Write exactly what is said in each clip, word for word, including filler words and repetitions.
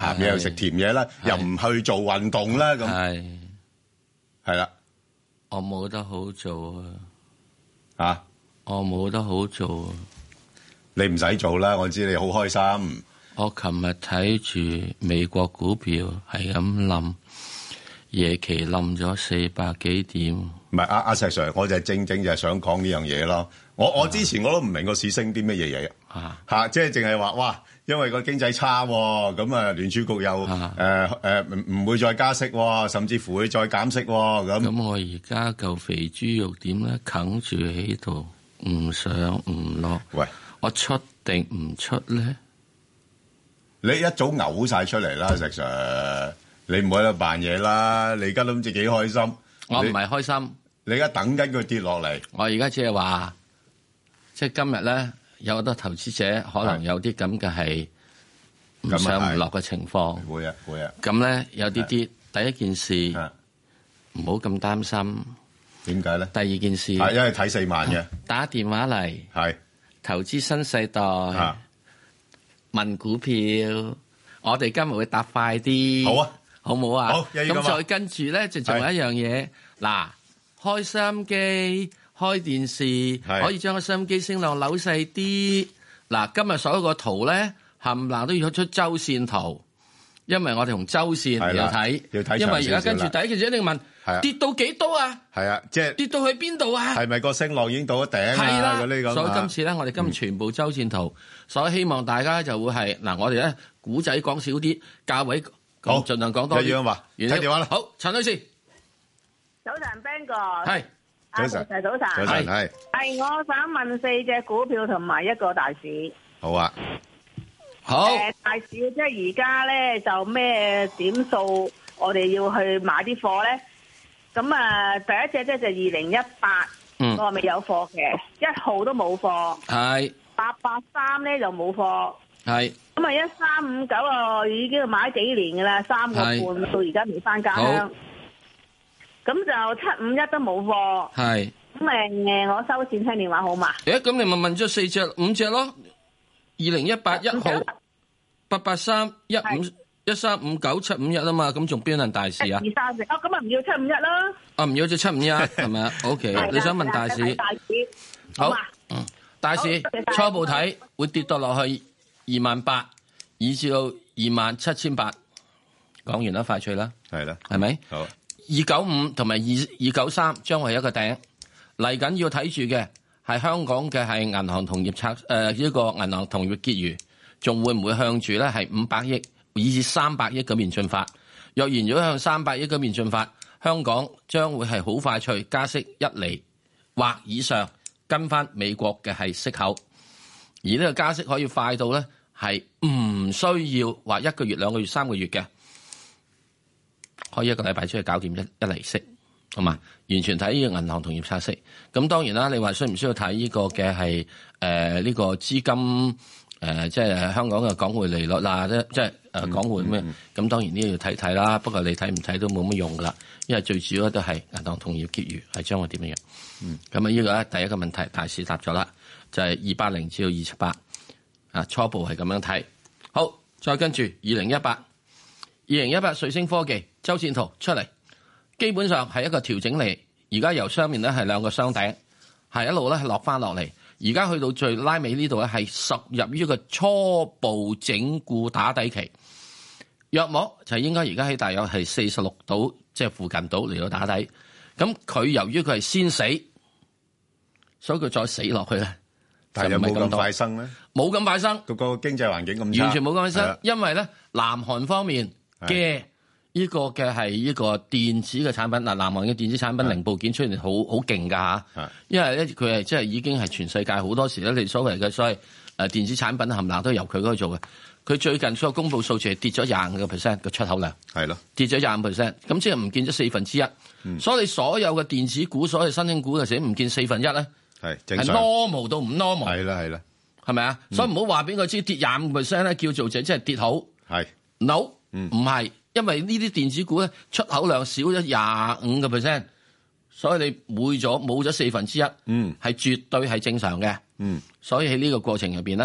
鹹嘢又食甜嘢啦，又唔去做運動啦，咁係係啦， 我冇得好做啊！ 啊， 我冇得好做啊！ 你唔使做啦，我知你好開心。 我琴日睇住美國股票係咁冧，夜期冧咗四百幾點。 唔係阿阿石 Sir，我就係正正就係想講呢樣嘢咯。我我之前我都唔明個市升啲乜嘢嘢啊嚇，即係淨係話哇，因為個經濟差喎，咁啊聯儲局又誒誒唔唔會再加息喎，甚至乎會再減息喎咁。 咁我而家嚿肥豬肉點咧，啃住喺度，唔上唔落。 喂， 我出定唔出咧？ 你一早嘔晒出嚟啦，石 Sir，你唔好喺度扮嘢啦。你而家都唔知幾開心。 我唔係開心， 你而家等緊佢跌落嚟。 我而家只係話，即係今日咧，有好多投資者可能有啲咁嘅係唔上唔落嘅情況。 會啊會啊。 咁咧有啲啲，第一件事唔好咁擔心。 點解咧？ 第二件事， 係因為睇四萬嘅， 打電話嚟， 係投資新世代。 啊問股票，我哋今日會答快啲。 好啊， 好唔好啊？ 好， 咁再跟住咧，就仲有一樣嘢。嗱，開收音機、開電視，可以將個收音機聲量扭細啲。嗱，今日所有個圖咧，冚唪唥都要出周線圖，因為我哋同周線嚟睇。 要睇。 因為而家跟住第一件事一定問，跌到幾多啊？ 係啊，即係跌到去邊度啊？ 係咪個升浪已經到咗頂啊？ 係啦， 嗰啲咁。 所以今次咧，我哋今日全部周線圖，所以希望大家就會係嗱，我哋咧古仔講少啲，價位講盡量講多啲。 一樣話，睇電話啦。 好，陳女士， 早晨 Ben 哥， 係早晨， 早晨， 早晨係。 係我想問四隻股票同埋一個大市。 好啊。 好。 誒，大市即係而家咧就咩點數，我哋要去買啲貨咧？咁啊，第一隻咧就二零一八，我未有貨嘅，一號都冇貨。 係。 八八三咧就冇貨。 係。 咁啊，一三五九啊，已經買幾年噶啦，三個半到而家未翻家鄉。咁就七五一都冇貨。 係。 咁誒，我收線聽電話好嘛？ 誒，咁你咪問咗四隻、五隻咯？二零一八一號、八八三、一五。一三五九七五一啊嘛，咁仲邊輪大市啊？ 二三四哦，咁啊唔要七五一啦。 啊唔要就七五一係咪啊 ？OK，你想問大市？ 大市好，嗯，大市初步睇會跌到落去二萬八，以至到二萬七千八。講完啦，快脆啦， 係啦， 係咪？ 好， 二九五同埋二二九三將會係一個頂，嚟緊要睇住嘅係香港嘅係銀行同業拆誒呢個銀行同業結餘，仲會唔會向住咧係五百億？以至三百億嗰邊進發，若然如果向三百億嗰邊進發，香港將會係好快脆加息一厘或以上，跟翻美國嘅係息口，而呢個加息可以快到咧係唔需要話一個月、兩個月、三個月嘅，可以一個禮拜出去搞掂一一厘息，同埋完全睇呢個銀行同業拆息。咁當然啦，你話需唔需要睇呢個嘅係誒呢個資金？誒、呃，即係香港嘅港匯利率啦，即即係誒港匯咩？咁、嗯嗯、當然呢要睇睇啦。不過你睇唔睇都冇乜用噶啦，因為最主要都係銀行同業結餘係將會點樣樣。嗯，咁啊呢個咧第一個問題大市答咗啦，就係二八零至到二七八啊，初步係咁樣睇。好，再跟住二零一八，二零一八瑞星科技周線圖出嚟，基本上係一個調整嚟。而家由上面咧係兩個雙頂，係一路咧係落翻落嚟。而家去到最拉尾呢度咧，係屬入於一個初步整固打底期，約莫就應該而家喺大約係四十六度，即係附近度嚟到打底。咁佢由於佢係先死，所以佢再死落去咧， 但係有冇咁快生咧？ 冇咁快生， 個個經濟環境咁差， 完全冇咁快生，因為咧南韓方面嘅。呢個嘅係呢個電子嘅產品，嗱，南韓嘅電子產品零部件出現好好勁㗎嚇，因為咧佢係即係已經係全世界好多時咧，你所謂嘅所謂誒電子產品冚唪唥都由佢嗰度做嘅。佢最近所公佈數字係跌咗廿五個 percent 嘅出口量，係咯，跌咗廿五 percent，咁即係唔見咗四分之一。嗯、所以你所有嘅電子股、所有新興股嘅時唔見四分一咧，係係 normal 到唔 normal，係啦係啦，係咪啊？所以唔好話俾我知跌廿五 percent 咧，叫做就即係跌好，係 no，唔、嗯、係。因為呢啲電子股咧出口量少咗廿五個 percent，所以你每咗冇咗四分之一，嗯，係絕對係正常嘅，嗯，所以喺呢個過程入邊咧，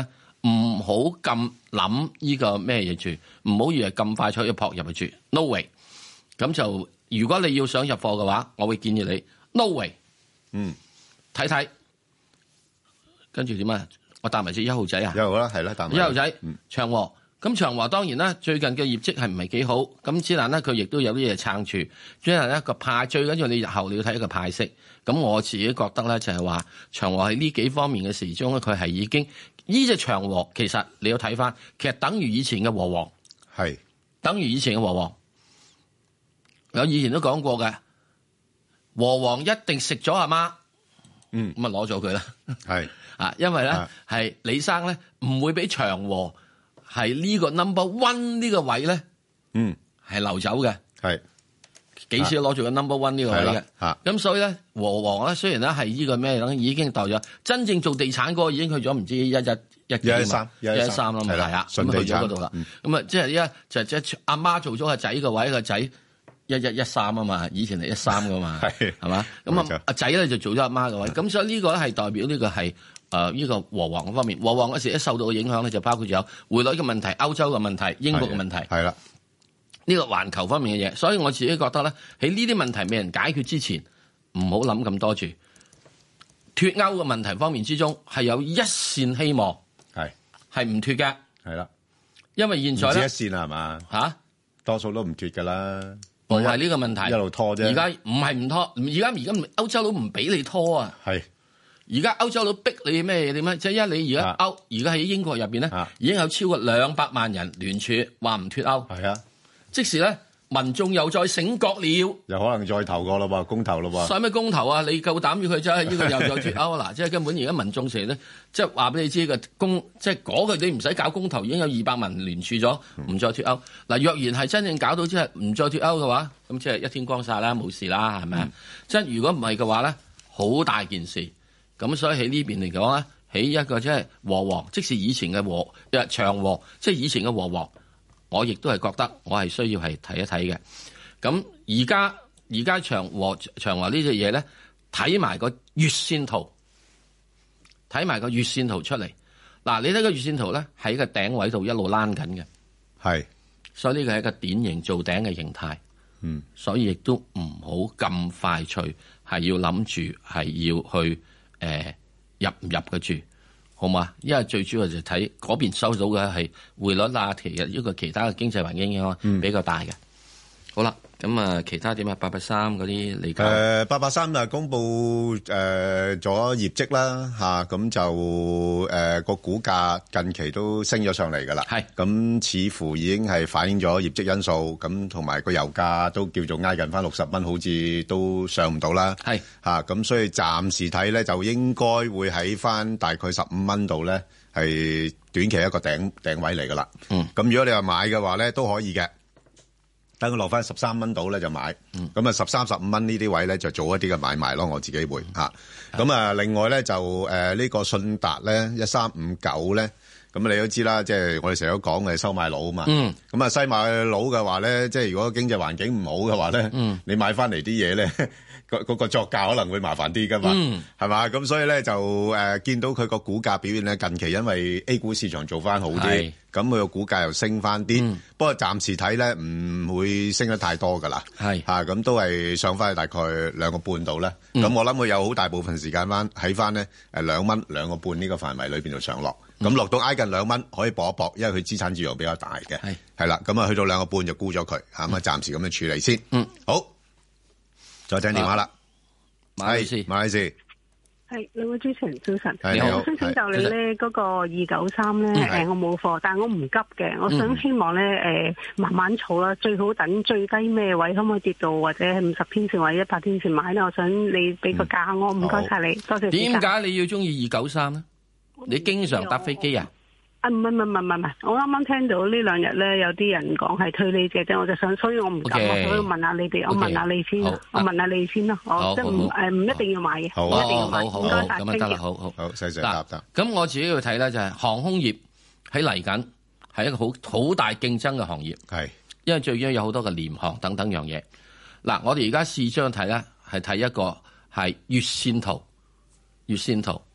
唔好咁諗呢個咩嘢住，唔好以為咁快就可以撲入去住 ，no way。咁就如果你要想入貨嘅話，我會建議你 no way。 嗯， 睇睇，跟住點啊？我搭埋隻一號仔啊！ 一號啦，係啦，搭埋一號仔， 嗯、 長和。咁長和當然啦，最近嘅業績係唔係幾好，咁之但咧佢亦都有啲嘢撐住。之但咧個派最緊要你日後你要睇一個派息。咁我自己覺得咧就係話長和喺呢幾方面嘅時鐘咧，佢係已經呢隻長和其實你要睇翻，其實等於以前嘅和黃， 係等於以前嘅和黃。我以前都講過嘅，和黃一定食咗阿媽， 嗯， 咁啊攞咗佢啦， 係啊，因為咧係李生咧唔會俾長和。係呢個 number one 呢個位咧， 嗯， 係流走嘅， 係幾時攞住個 number one 呢個位嘅， 嚇咁所以咧和黃咧雖然咧係呢個咩已經代咗，真正做地產嗰個已經去咗唔知一一一幾一一三一一三啦，係啊，咁去咗嗰度啦，咁啊即係依家就即係阿媽做咗個仔個位，個仔一一一三啊嘛，以前係一三噶嘛，係係嘛，咁啊阿仔咧就做咗阿媽個位，咁所以呢個咧係代表呢個係。誒、呃、呢、這個和黃方面，和黃嗰時一受到嘅影響咧，就包括咗有匯率嘅問題、歐洲嘅問題、英國嘅問題，係啦，呢、這個環球方面嘅嘢，所以我自己覺得咧，喺呢啲問題未人解決之前，唔好諗咁多住。脫歐嘅問題方面之中，係有一線希望，係係唔脫嘅，係啦，因為現在咧， 唔止一線係嘛嚇， 多數都唔脫㗎啦， 唔係呢個問題， 一路拖啫。而家唔係唔拖，而家而家歐洲佬唔俾你拖啊，係。而家歐洲佬逼你咩嘢點樣？即係因為你而家歐，而家喺英國入邊咧，已經有超過兩百萬人聯署話唔脫歐。係啊，即時咧，民眾又再醒覺了， 又可能再投過咯噃，公投咯噃。 使咩公投啊？你夠膽要佢真係呢個又再脫歐啊？嗱，即係根本而家民眾成咧，即係話俾你知個公，即係嗰個你唔使搞公投，已經有二百萬聯署咗，唔再脫歐。嗱、嗯，若然係真正搞到即係唔再脫歐嘅話，咁即係一天光晒啦，冇事啦，係咪啊？即、嗯、係如果唔係嘅話咧，好大件事。咁所以喺呢邊嚟講咧，喺一個即係和黃，即使以前嘅和誒長和，即係以前嘅和黃，我亦都係覺得我係需要係睇一睇嘅。咁而家而家長和長和呢隻嘢咧，睇埋個月線圖，睇埋個月線圖出嚟。嗱，你睇個月線圖咧，喺個頂位度一路躝緊嘅，係，所以呢個係一個典型做頂嘅形態。嗯，所以亦都唔好咁快脆，係要諗住係要去。誒、呃，入唔入嘅住，好嘛？因為最主要就睇嗰邊收到嘅係匯率啊，其實呢個其他嘅經濟環境影響比較大嘅、嗯。好啦，咁啊，其他點啊？八八三嗰啲嚟講，誒， 八八三啊，公布誒咗、呃、業績啦，吓、啊、咁就誒個、呃、股價近期都升咗上嚟噶啦，係咁似乎已經係反映咗業績因素，咁同埋個油價都叫做挨近翻六十蚊，好似都上唔到啦，係吓咁，所以暫時睇咧就應該會喺翻大概十五蚊度咧，係短期一個頂頂位嚟噶啦。嗯，咁如果你話買嘅話咧，都可以嘅。等佢落翻十三蚊度咧就買，咁啊十三十五蚊呢啲位咧就做一啲嘅買賣咯，我自己會嚇。咁啊另外咧就誒呢、呃這個信達咧一三五九咧，咁你都知啦，即係我哋成日都講嘅收買佬啊嘛。咁、嗯、啊西買佬嘅話咧，即係如果經濟環境唔好嘅話咧、嗯，你買翻嚟啲嘢咧，嗰、那個作價可能會麻煩啲噶嘛，係、嗯、嘛？咁所以咧就誒、呃、見到佢個股價表現咧，近期因為 A 股市場做翻好啲。咁佢個股價又升翻啲、嗯，不過暫時睇咧唔會升得太多噶啦，係嚇咁都係上翻去大概兩個半度啦。咁、嗯、我諗佢有好大部分時間翻喺翻咧誒兩蚊兩個半呢個範圍裏邊度上落，咁、嗯、落到挨近兩蚊可以搏一搏，因為佢資產自由比較大嘅，係係啦。咁啊去到兩個半就沽咗佢，咁啊暫時咁樣處理先。嗯，好，再聽電話啦，馬來西馬來西。 係兩位主持人早晨， 你好。 我想請教你咧，嗰個二九三咧，誒，我冇貨，但係我唔急嘅，我想希望咧，誒、呃，慢慢儲啦，最好等最低咩位，可唔可以跌到或者係五十天線或者一百天線買咧？我想你俾個價我，唔該晒你，多謝。 點解你要中意二九三咧？你經常搭飛機啊？ 啊，唔係唔係唔係唔係，我啱啱聽到呢兩日咧有啲人講係推呢隻啫，我就想，所以我唔急，我所以問下你哋，我問下你先，我問下你先咯，我即係唔誒唔一定要買嘅，唔一定要買，唔該晒， 咁得啦，好好好，細細答答。 咁我自己要睇咧就係航空業喺嚟緊係一個好好大競爭嘅行業，係，因為最緊要有好多嘅廉航等等樣嘢。嗱，我哋而家試張睇咧係睇一個係月線圖，月線圖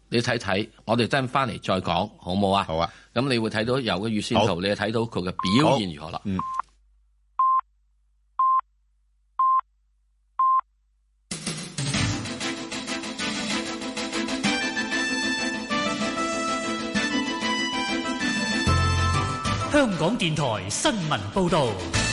你睇睇，我哋真翻嚟再講，好冇啊？ 好啊。 咁你會睇到有個月線圖，你就睇到佢嘅表現如何啦。 嗯。 香港電台新聞報導。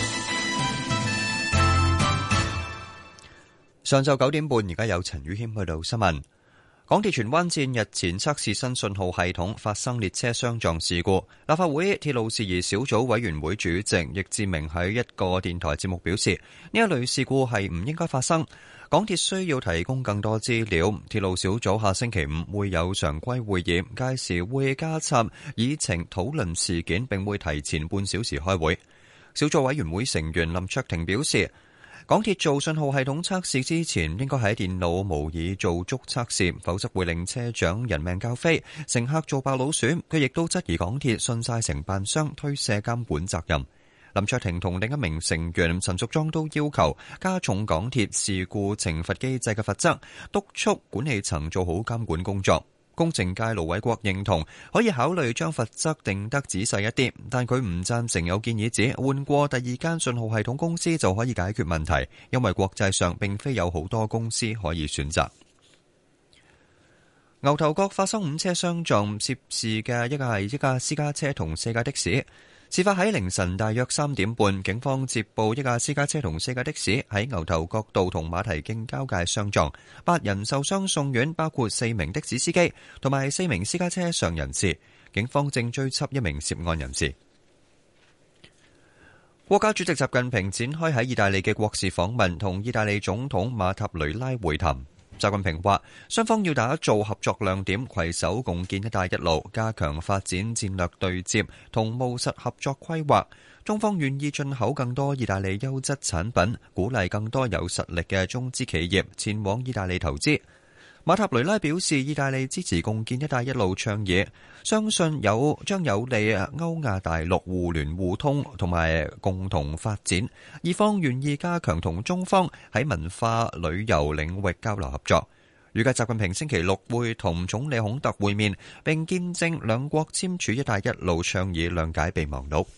上晝九點半，而家有陳宇謙去到新聞。港鐵荃灣線日前測試新信號系統，發生列車相撞事故。立法會鐵路事宜小組委員會主席易志明喺一個電台節目表示，呢一類事故係唔應該發生。港鐵需要提供更多資料。鐵路小組下星期五會有常規會議，屆時會加插議程討論事件，並會提前半小時開會。小組委員會成員林卓廷表示，港鐵做信號系統測試之前，應該喺電腦模擬做足測試，否則會令車長人命交飛，乘客做白老鼠。佢亦都質疑港鐵信晒承辦商，推卸監管責任。林卓廷同另一名成員陳淑莊都要求加重港鐵事故懲罰機制嘅罰則，督促管理層做好監管工作。工程界盧偉國認同可以考慮將罰則定得仔細一啲，但佢唔贊成有建議指換過第二間信號系統公司就可以解決問題，因為國際上並非有好多公司可以選擇。牛頭角發生五車相撞，涉事嘅一個係一架私家車同四架的士。事發喺凌晨大約三點半，警方接報一架私家車同四架的士喺牛頭角道同馬蹄徑交界相撞，八人受傷送院，包括四名的士司機同埋四名私家車上人士。警方正追緝一名涉案人士。國家主席習近平展開喺意大利嘅國事訪問，同意大利總統馬塔雷拉會談。習近平話，雙方要打造合作亮點，攜手共建一帶一路，加強發展戰略對接同務實合作規劃。中方願意進口更多意大利優質產品，鼓勵更多有實力嘅中資企業前往意大利投資。馬塔雷拉表示，意大利支持共建一帶一路倡議，相信有將有利歐亞大陸互聯互通同埋共同發展。意方願意加強同中方喺文化旅遊領域交流合作。預計習近平星期六會同總理孔特會面，並見證兩國簽署一帶一路倡議，諒解備忘錄。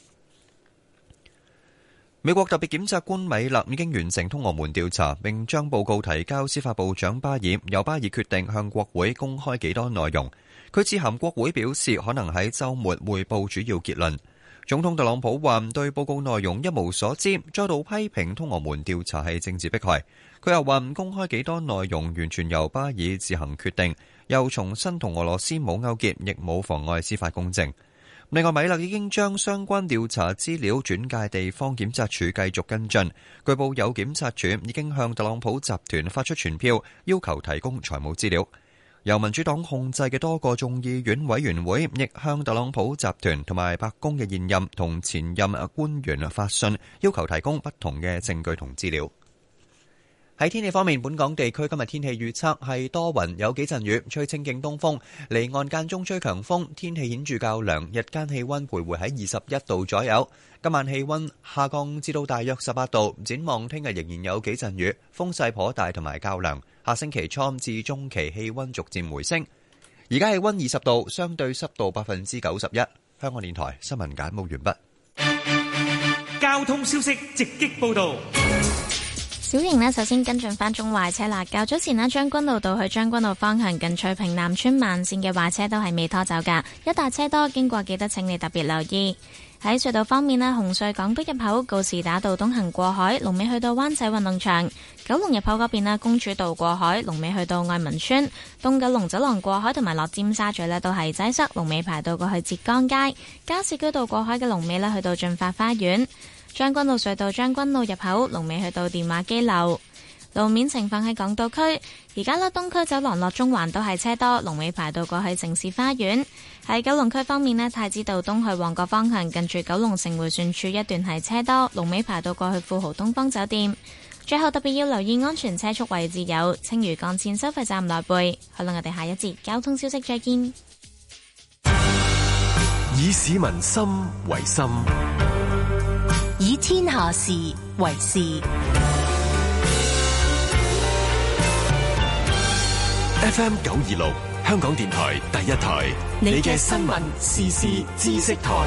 美國特別檢察官米勒已經完成通俄門調查，並將報告提交司法部長巴爾，由巴爾決定向國會公開幾多內容。佢致函國會表示，可能喺週末匯報主要結論。總統特朗普話對報告內容一無所知，再度批評通俄門調查係政治迫害。佢又話唔公開幾多內容完全由巴爾自行決定，又重申同俄羅斯冇勾結，亦冇妨礙司法公正。另外，米勒已經將相關調查資料轉介地方檢察署繼續跟進。據報有檢察署已經向特朗普集團發出傳票，要求提供財務資料。由民主黨控制嘅多個眾議院委員會亦向特朗普集團同埋白宮嘅現任同前任官員發信，要求提供不同嘅證據同資料。喺天氣方面，本港地區今日天氣預測係多雲，有幾陣雨，吹清勁東風，離岸間中吹強風，天氣顯著較涼，日間氣溫徘徊喺二十一度左右。今晚氣溫下降至到大約十八度，展望聽日仍然有幾陣雨，風勢頗大同埋較涼。下星期初至中期氣溫逐漸回升。而家氣溫二十度，相對濕度百分之九十一。香港電台新聞簡報完畢。 交通消息直擊報道。 小瑩呢，首先跟進翻中壞車啦。較早前呢，將軍澳道去將軍澳方向近翠屏南村慢線嘅壞車都係未拖走噶，一大車多，經過記得請你特別留意。喺隧道方面呢，紅隧港島入口告士打道東行過海，龍尾去到灣仔運動場；九龍入口嗰邊呢，公主道過海，龍尾去到愛民村；東九龍走廊過海同埋落尖沙咀呢，都係擠塞，龍尾排到過去浙江街；加士居道過海嘅龍尾呢，去到駿發花園。將軍澳隧道將軍澳入口龍尾去到電話機樓。路面情況喺港島區，而家呢，東區走廊落中環都係車多，龍尾排到過去城市花園。喺九龍區方面呢，太子道東去旺角方向近住九龍城迴旋處一段係車多，龍尾排到過去富豪東方酒店。最後特別要留意安全車速位置有青嶼幹線收費站內背。好啦，我哋下一節交通消息再見。 以市民心為心， 以天下事為事。 F M 九二六香港電台第一台，你嘅新聞時事知識台。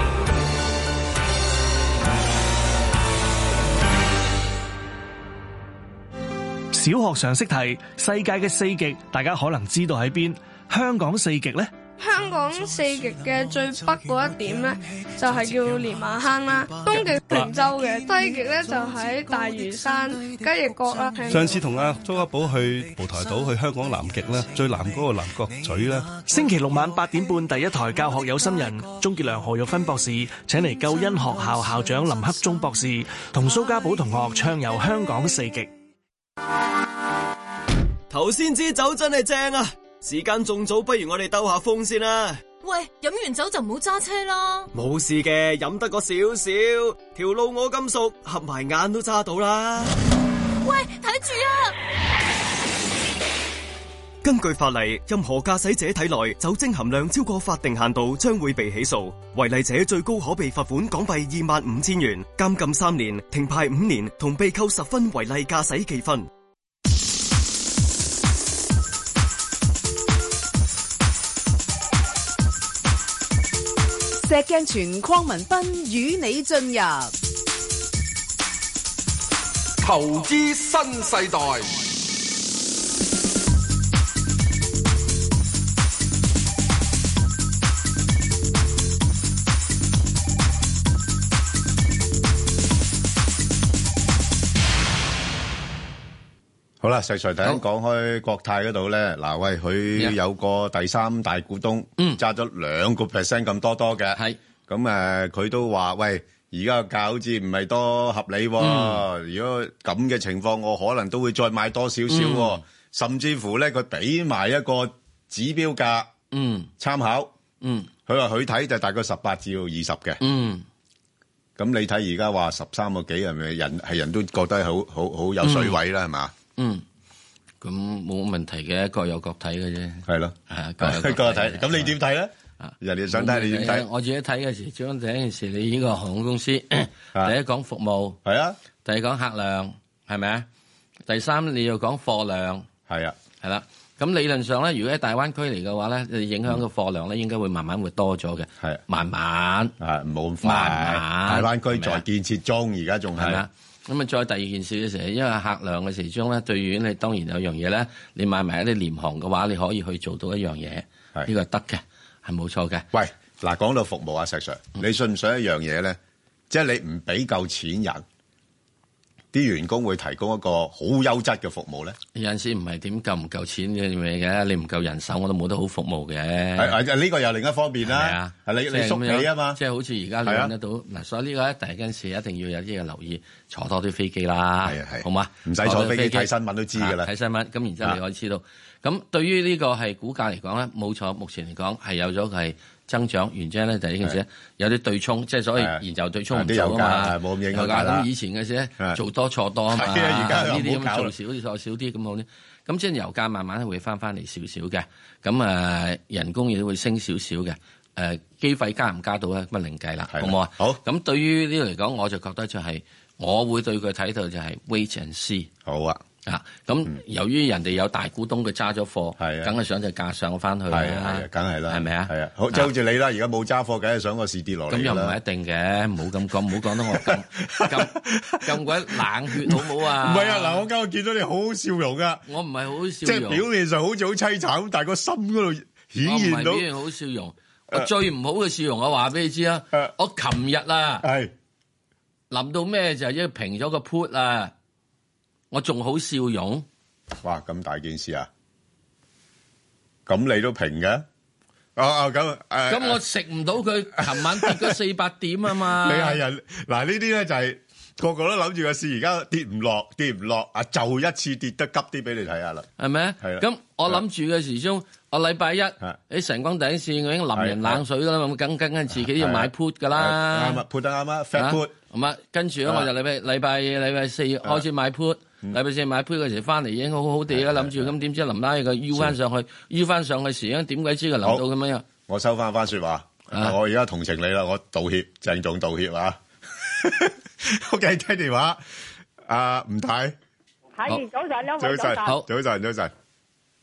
小學常識題，世界嘅四極，大家可能知道喺邊？香港四極呢？ 香港四極嘅最北嗰一點呢，就係叫蓮麻坑啦。東極平洲嘅，西極呢就喺大嶼山雞翼角啦。 上次同阿周家寶去蒲台島，去香港南極啦，最南嗰個南角咀啦。 星期六晚八點半，第一台教學有心人，鍾傑良、何玉芬博士請嚟救恩學校校長林克忠博士，同蘇家寶同學暢遊香港四極。 頭先支酒真係正啊！時間仲早，不如我哋兜下風先啦。 喂，飲完酒就唔好揸車啦。 冇事嘅，飲得個少少，條路我咁熟，合埋眼都揸到啦。 喂，睇住啊！ 根據法例，任何駕駛者體內酒精含量超過法定限度，將會被起訴。違例者最高可被罰款港幣二萬五千元、監禁三年、停牌五年，同被扣十分違例駕駛記分。 石鏡泉鄺民彬與你進入投資新世代。 好啦，石 Sir 第一講開國泰嗰度咧，嗱喂，佢有個第三大股東，揸咗兩個 percent 咁多多嘅，係咁誒，佢都話喂，而家個價好似唔係多合理喎，嗯、如果咁嘅情況，我可能都會再買多少少喎，嗯、甚至乎咧，佢俾埋一個指標價，嗯，參考，嗯，佢話佢睇就大概十八至到二十嘅，嗯，咁你睇而家話十三個幾係咪人係人都覺得好好好有水位啦，係嘛、嗯？嗯， 咁冇問題嘅，各有各睇嘅啫。 係咯，係各有各睇。咁你點睇咧？人哋想睇你點睇？ 我自己睇嘅時，將第一件事，你呢個航空公司，第一講服務， 係啊， 第二講客量，係咪啊？第三你要講貨量， 係啊， 係啦。咁理論上咧，如果喺大灣區嚟嘅話咧，你影響個貨量咧，應該會慢慢會多咗嘅。係，慢慢， 係冇咁快。慢慢，大灣區在建設中，而家仲係。 咁啊，再第二件事嘅時候，因為客量嘅時鐘咧，對於你當然有樣嘢咧，你買埋一啲廉航嘅話，你可以去做到一樣嘢，呢個係得嘅，係冇錯嘅。 喂，嗱，講到服務啊，石 Sir，你信唔信一樣嘢咧？即係你唔俾夠錢人，啲員工會提供一個好優質嘅服務咧？ 有陣時唔係點夠唔夠錢嘅嘢嘅，你唔夠人手，我都冇得好服務嘅。 係係，呢個又另一方面啦。係你你縮起啊嘛， 即係好似而家你揾得到嗱，所以呢個第一件事一定要有啲嘅留意，坐多啲飛機啦，係係，好嘛？唔使坐飛機睇新聞都知㗎啦，睇新聞咁，然之後你可以知道。咁對於呢個係股價嚟講咧，冇錯，目前嚟講係有咗係增長，原因咧就係呢件事有啲對沖，即係所謂燃油對沖唔做啊嘛，冇咁影響啦。咁以前嘅時咧做多錯多啊嘛，而家呢啲咁做少啲錯少啲咁好啲。咁即係油價慢慢會翻翻嚟少少嘅，咁誒人工亦都會升少少嘅，誒機費加唔加到咧咁啊另計啦，好唔好啊？好。咁對於呢度嚟講，我就覺得就係我會對佢睇到就係 wait and see。好啊。啊，咁由於人哋有大股東佢揸咗貨，係啊，梗係想隻價上翻去啦，係啊，梗係啦，係咪啊？係啊，好即係好似你啦，而家冇揸貨，梗係想個市跌落嚟啦。咁又唔係一定嘅，唔好咁講，唔好講得我咁咁咁鬼冷血，好唔好啊？唔係啊，嗱，我今日見到你好好笑容噶，我唔係好笑容，即係表面上好似好凄慘，但係個心嗰度顯現到。我唔係表現好笑容，我最唔好嘅笑容，我話俾你知啊，我琴日啊，係諗到咩就係因為平咗個 put 啊。我仲好笑容，哇！咁大件事啊，咁你都平嘅？哦哦咁誒，咁我食唔到佢，琴晚跌咗四百點啊嘛！你係人嗱呢啲咧就係個個都諗住個市而家跌唔落，跌唔落啊，就一次跌得急啲俾你睇下啦，係咪啊？係啦。咁我諗住嘅時鐘，我禮拜一喺晨光第一線我已經淋人冷水啦，咁梗梗係自己要買 put 噶啦，啱啊 put 得啱啊 fat put，咁啊跟住咧我就禮拜禮拜禮拜四開始買 put。禮拜四買杯嗰時翻嚟已經好好地啦，諗住咁點知臨拉佢腰翻上去，腰翻上去時，點鬼知佢淋到咁樣？我收翻番說話，我而家同情你啦，我道歉，鄭重道歉啊！OK， 聽電話，阿吳太，係早晨，兩位早晨，好早晨，早晨。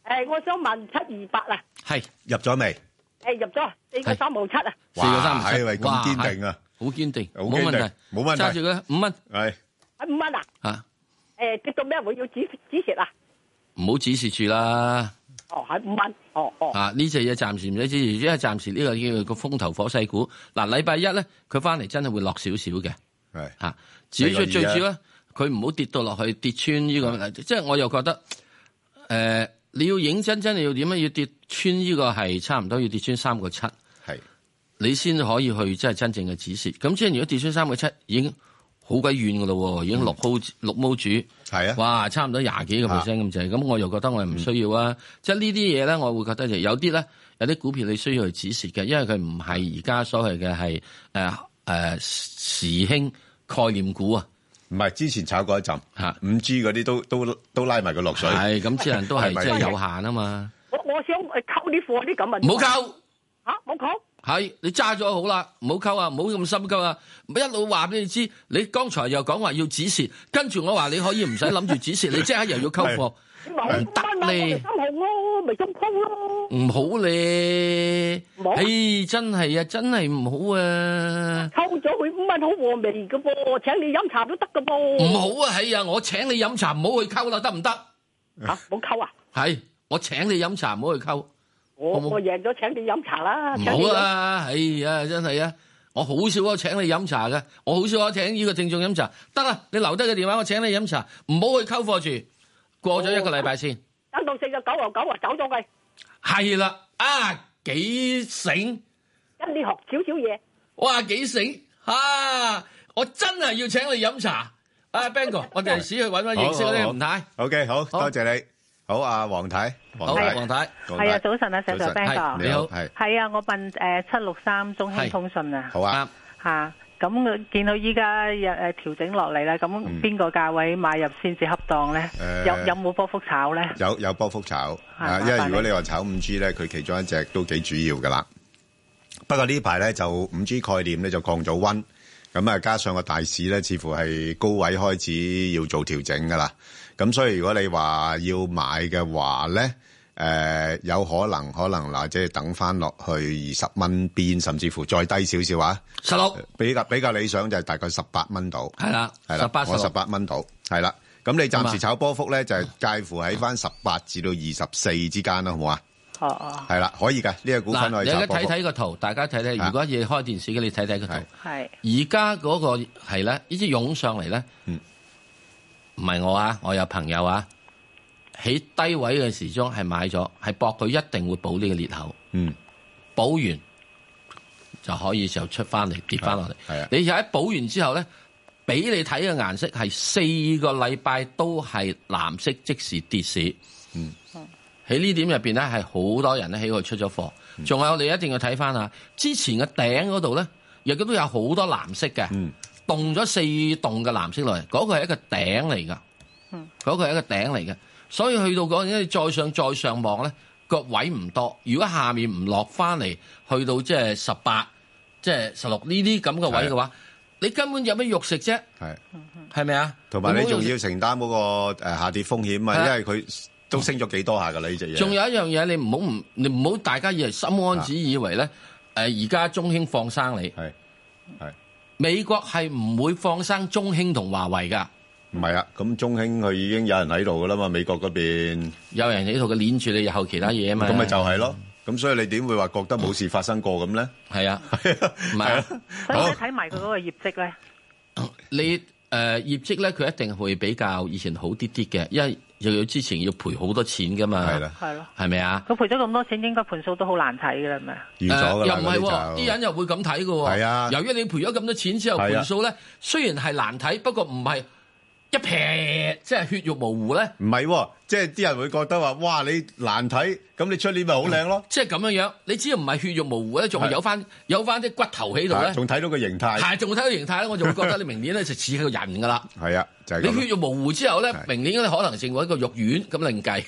誒，我想問七二八啊。 係入咗未？ 誒，入咗四個三毫七啊。 四個三毫七， 喂，咁堅定啊！ 好堅定， 冇問題，冇問題。 揸住佢五蚊。 係。 係五蚊啊？ 嚇。 誒，跌到咩會要止止蝕啊？ 唔好止蝕住啦。 哦，係五蚊。哦哦。 啊，呢隻嘢暫時唔使止蝕，因為暫時呢個叫個風頭火勢股。嗱，禮拜一咧，佢翻嚟真係會落少少嘅。 係。 嚇，至於最最主要咧，佢唔好跌到落去跌穿呢個，即係我又覺得誒，你要認真真，你要點樣要跌穿呢個係差唔多要跌穿三個七。 係。你先可以去即係真正嘅止蝕。咁即係如果跌穿三個七，已經好鬼遠噶咯，已經六毫六毛主。 係啊， 哇，差唔多廿幾個 percent 咁滯。咁我又覺得我係唔需要啊。即係呢啲嘢咧，我會覺得就有啲咧，有啲股票你需要去止蝕嘅，因為佢唔係而家所謂嘅係誒誒時興概念股啊。 唔係之前炒過一陣嚇，五 G 嗰啲都都都拉埋佢落水。 係咁，只能都係即係有限啊嘛。 我我想誒溝啲貨啲咁啊。 唔好溝嚇，冇溝。 係你揸咗好啦，唔好溝啊，唔好咁心急啊！一路話俾你知，你剛才又講話要止蝕，跟住我話你可以唔使諗住止蝕，你即刻又要溝貨，唔得咧。 三號咯，咪咁溝咯。 唔好咧，唉，真係啊，真係唔好啊！ 溝咗佢五蚊好和味噶噃，請你飲茶都得噶噃。 唔好啊，係啊，我請你飲茶，唔好去溝啦，得唔得？ 嚇，冇溝啊？ 係，我請你飲茶，唔好去溝。 我我贏咗請你飲茶啦， 唔好啊！哎呀，真係啊！我好少啊請你飲茶嘅，我好少啊請呢個聽眾飲茶。得啦，你留低個電話，我請你飲茶，唔好去溝貨住。過咗一個禮拜先， 等到四個九毫九啊，走咗佢。 係啦，啊幾醒， 跟你學少少嘢。 哇幾醒啊！我真係要請你飲茶。啊 Ben 哥，我哋試去揾揾認識嗰啲吳太。 OK，好多謝你。好啊，黃太，黃太，黃太， 係啊，早晨啊，石 Sir Ben 哥， 你好，係， 係啊，我問誒七六三中興通訊啊， 好啊， 嚇，咁見到依家誒誒調整落嚟咧，咁邊個價位買入先至恰當咧？有有冇波幅炒咧？ 有有波幅炒，啊，因為如果你話炒五 G 咧，佢其中一隻都幾主要噶啦。不過呢排咧就五 G 概念咧就降咗溫，咁啊加上個大市咧似乎係高位開始要做調整噶啦。咁所以如果你話要買嘅話咧，誒、呃、有可能可能嗱，即係等翻落去二十蚊邊，甚至乎再低少少啊， 十六比較比較理想就係大概十八蚊度， 係啦， 係啦， 十八我十八蚊度，係啦。咁你暫時炒波幅咧，就係介乎喺翻十八至到二十四之間啦，好唔好啊？ 哦哦， 係啦，可以㗎，呢、這個股份可以炒波幅。 嗱，你而家睇睇個圖，大家睇睇。如果要開電視嘅，你睇睇個圖。 係。 而家嗰個係咧，呢啲湧上嚟咧。嗯。唔係我啊，我有朋友啊，喺低位嘅時鐘係買咗，係搏佢一定會補呢個裂口。 嗯， 補完就可以就出翻嚟跌翻落嚟。 係啊， 你又喺補完之後咧，俾你睇嘅顏色係四個禮拜都係藍色，即時跌市。 嗯， 喺呢點入邊咧，係好多人咧喺度出咗貨。仲、嗯、有我哋一定要睇翻啊，之前嘅頂嗰度咧，亦都有好多藍色嘅。 嗯。 動咗四棟嘅藍色落嚟，嗰、那個係一個頂嚟噶，嗯，嗰、那個係一個頂嚟嘅，所以去到嗰陣，你再上再上望咧，個位唔多。如果下面唔落翻嚟，去到即係十八、即係十六呢啲咁嘅位嘅話，你根本有咩肉食啫？係，係咪啊？ 同埋你仲要承擔嗰個誒下跌風險啊，因為佢都升咗幾多下噶啦呢隻嘢。仲有一樣嘢，你唔好唔，你唔好大家以為心安子以為咧，誒而家中興放生你，係係。美國係唔會放生中興同華為噶， 唔係啊，咁中興佢已經有人喺度噶啦嘛，美國嗰邊有人喺度嘅鏈住你日後其他嘢啊嘛， 咁咪就係咯，咁所以你點會話覺得冇事發生過咁咧？ 係啊，唔係啊， 所以你睇埋佢嗰個業績咧， 你誒、呃、業績咧，佢一定會比較以前好啲啲嘅，因為又要之前要賠好多錢噶嘛，係啦， 係咯， 係咪啊？ 佢賠咗咁多錢，應該盤數都好難睇噶啦，係咪？ 預咗㗎啦， 又唔係喎，啲人又會咁睇㗎喎。係啊，由於你賠咗咁多錢之後，盤數咧雖然係難睇，不過唔係一撇即係血肉模糊咧。 唔係，即係啲人會覺得話，哇！你難睇，咁你出年咪好靚咯。 即係咁樣樣，你只要唔係血肉模糊咧，仲係有翻有翻啲骨頭喺度咧， 仲睇到個形態。 係，仲睇到形態咧，我就會覺得你明年咧就似個人㗎啦。 係啊，就係你血肉模糊之後咧，明年咧可能成為一個肉丸咁另計。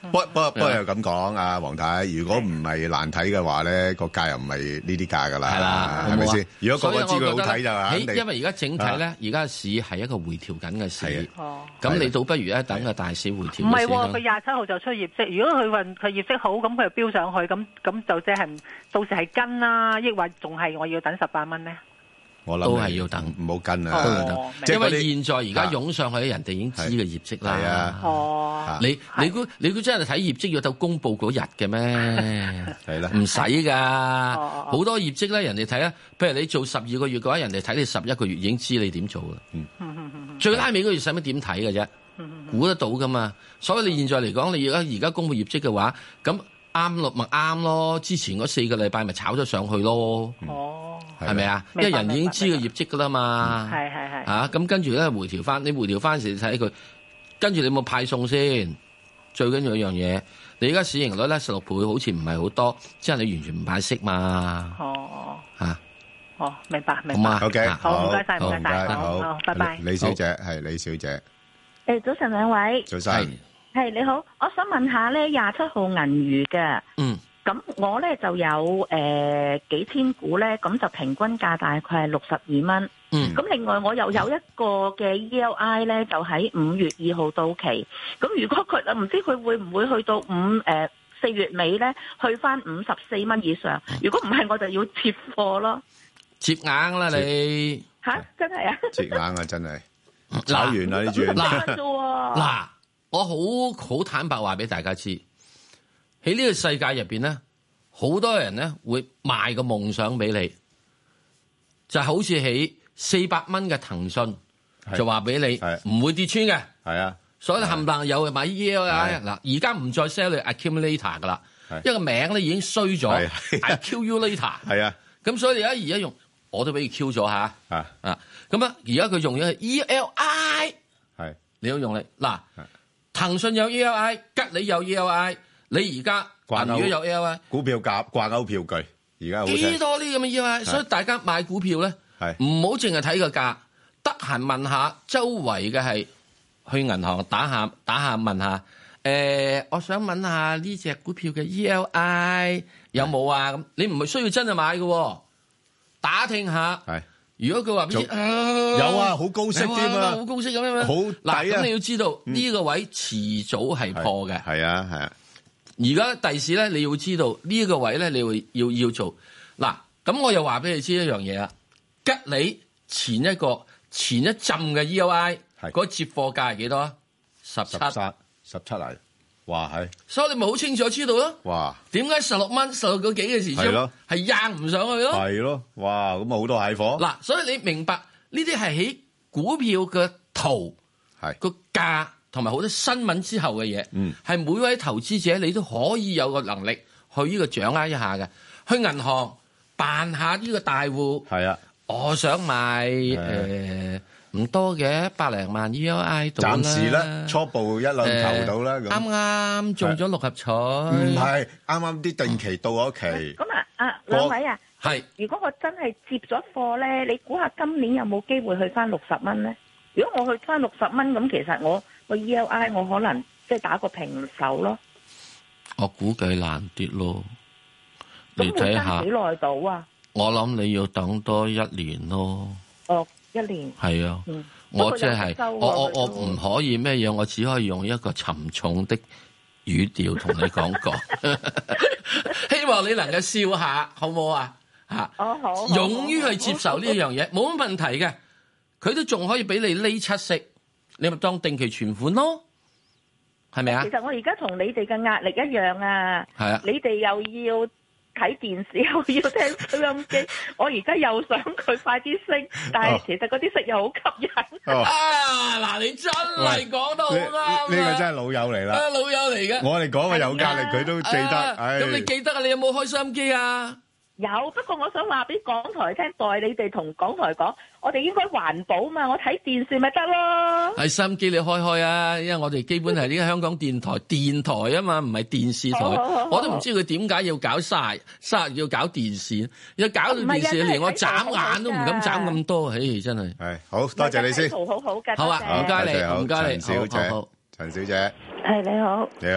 不不不過又咁講啊，黃太，如果唔係難睇嘅話咧，個價又唔係呢啲價噶啦，係啦，係咪先？如果個個知佢好睇就係， 因為而家整體咧，而家市係一個回調緊嘅市，咁你倒不如咧等個大市回調。 唔係喎，佢廿七號就出業績，如果佢運佢業績好，咁佢又飆上去，咁咁就即係到時係跟啦，抑或仲係我要等十八蚊咧？ 我諗都係要等， 唔好跟啊！ 都要等，因為現在而家湧上去，人哋已經知個業績啦。 係啊， 哦， 你你估你估真係睇業績要到公佈嗰日嘅咩？ 係啦， 唔使㗎，好多業績咧，人哋睇啊。譬如你做十二個月嘅話，人哋睇你十一個月已經知你點做啦。嗯，最拉尾嗰月使乜點睇嘅啫？估得到㗎嘛。所以你現在嚟講，你而家而家公佈業績嘅話，咁啱咯，咪啱咯。之前嗰四個禮拜咪炒咗上去咯。哦。係咪啊？因為人已經知個業績噶啦嘛， 係係係嚇咁跟住咧回調翻，你回調翻時你睇佢，跟住你有冇派送先？最緊要一樣嘢，你而家市盈率咧十六倍，好似唔係好多，即係你完全唔派息嘛。 哦嚇， 哦明白明白。 好 OK， 好唔該曬唔該曬， 好， 好拜拜。 李小姐係李小姐， 誒早晨兩位， 早晨係你好，我想問下咧廿七號銀娛嘅， 嗯。 咁我咧就有誒、呃、幾千股咧，咁就平均價大概係六十二蚊。 嗯。 咁另外我又有一個嘅 E L I 咧，就喺五月二號到期。咁如果佢唔知佢會唔會去到五誒四月尾咧，去翻五十四蚊以上？如果唔係，我就要接貨咯。 接硬啦你吓？真係啊！ 接硬啊！真係炒完啦呢轉。 嗱，我好好坦白話俾大家知。喺呢個世界入邊咧，好多人咧會賣個夢想俾你，就好似喺四百蚊嘅騰訊，就話俾你唔會跌穿嘅。 係啊， 所以你冚唪唥有買 E L I 嗱，而家唔再 sell 你 accumulator 噶啦，因為個名咧已經衰咗 accumulator。係啊，咁所以而家而家用我都俾佢 Q 咗吓啊啊，咁啊而家佢用咗 E L I， 係你要用你嗱，騰訊有 E L I， 吉利有 E L I。你而家銀娛有 E L I 股票價掛鈎票據，而家好幾多呢咁嘅 E L I， 所以大家買股票咧，唔好淨係睇個價，得閒問下周圍嘅係去銀行打下打下問下，誒、呃，我想問下呢隻股票嘅 E L I 有冇啊？咁你唔係需要真係買嘅，打聽下。係，如果佢話俾你有啊，好高息添啊， 好高息咁樣， 好嗱，咁你要知道呢、嗯、個位遲早係破嘅。係啊，係啊。 而家第時咧，你要知道呢、這個位咧，你會要要做嗱。咁我又話俾你知一樣嘢啦。吉利前一個前一浸嘅 E L I 嗰個接貨價係幾多啊？十七， 十七嚟，哇係！ 所以你咪好清楚知道咯。 哇！點解十六蚊、十六個幾嘅時鐘係掗唔上去咯？ 係咯，哇！咁啊好多蟹貨。 嗱，所以你明白呢啲係喺股票嘅圖係個價。同埋好多新聞之後嘅嘢，係、嗯、每位投資者你都可以有個能力去呢個掌握一下嘅。去銀行辦下呢個大戶，係啊，我想買誒唔多嘅百零萬 E L I 度啦。暫時咧初步一兩頭到啦。啱啱、呃、中咗六合彩， 唔係啱啱啲定期到咗期。 咁啊啊兩位啊， 係如果我真係接咗貨咧，你估下今年有冇機會去翻六十蚊咧？如果我去翻六十蚊，咁其實我個 E L I 我可能即係打個平手咯。 我估計難啲咯。你睇下幾耐到啊？ 我諗你要等多一年咯。 哦，一年。係啊，嗯、我即、就、係、是、我我我唔可以咩嘢，我只可以用一個沉重的語調同你講講。希望你能夠笑下，好唔好啊？吓、 哦，好。 勇於去接受呢樣嘢，冇乜問題嘅。佢都仲可以俾你呢七息，你咪當定期存款咯，係咪啊？ 其實我而家同你哋嘅壓力一樣啊，係啊，你哋又要睇電視，又要聽收音機，我而家又想佢快啲升，但係其實嗰啲息又好吸引。 哦、 啊，嗱，你真係講得好啱， 呢、呢個真係老友嚟啦， 老友嚟嘅。 我哋講嘅有壓力，佢都記得。咁、 哎、你記得啊？你有冇開收音機啊？ 有，不過我想話俾港台聽，代你哋同港台講，我哋應該環保嘛，我睇電視咪得咯。係收音機你開開啊，因為我哋基本係呢個香港電台電台啊嘛，唔係電視台。我都唔知佢點解要搞晒，晒要搞電視，要搞到電視連我眨眼都唔敢眨咁多，唉，真係。係好多謝你先。好好嘅，好啊，唔該你，唔該你，陳小姐，陳小姐， 係你好， 你好。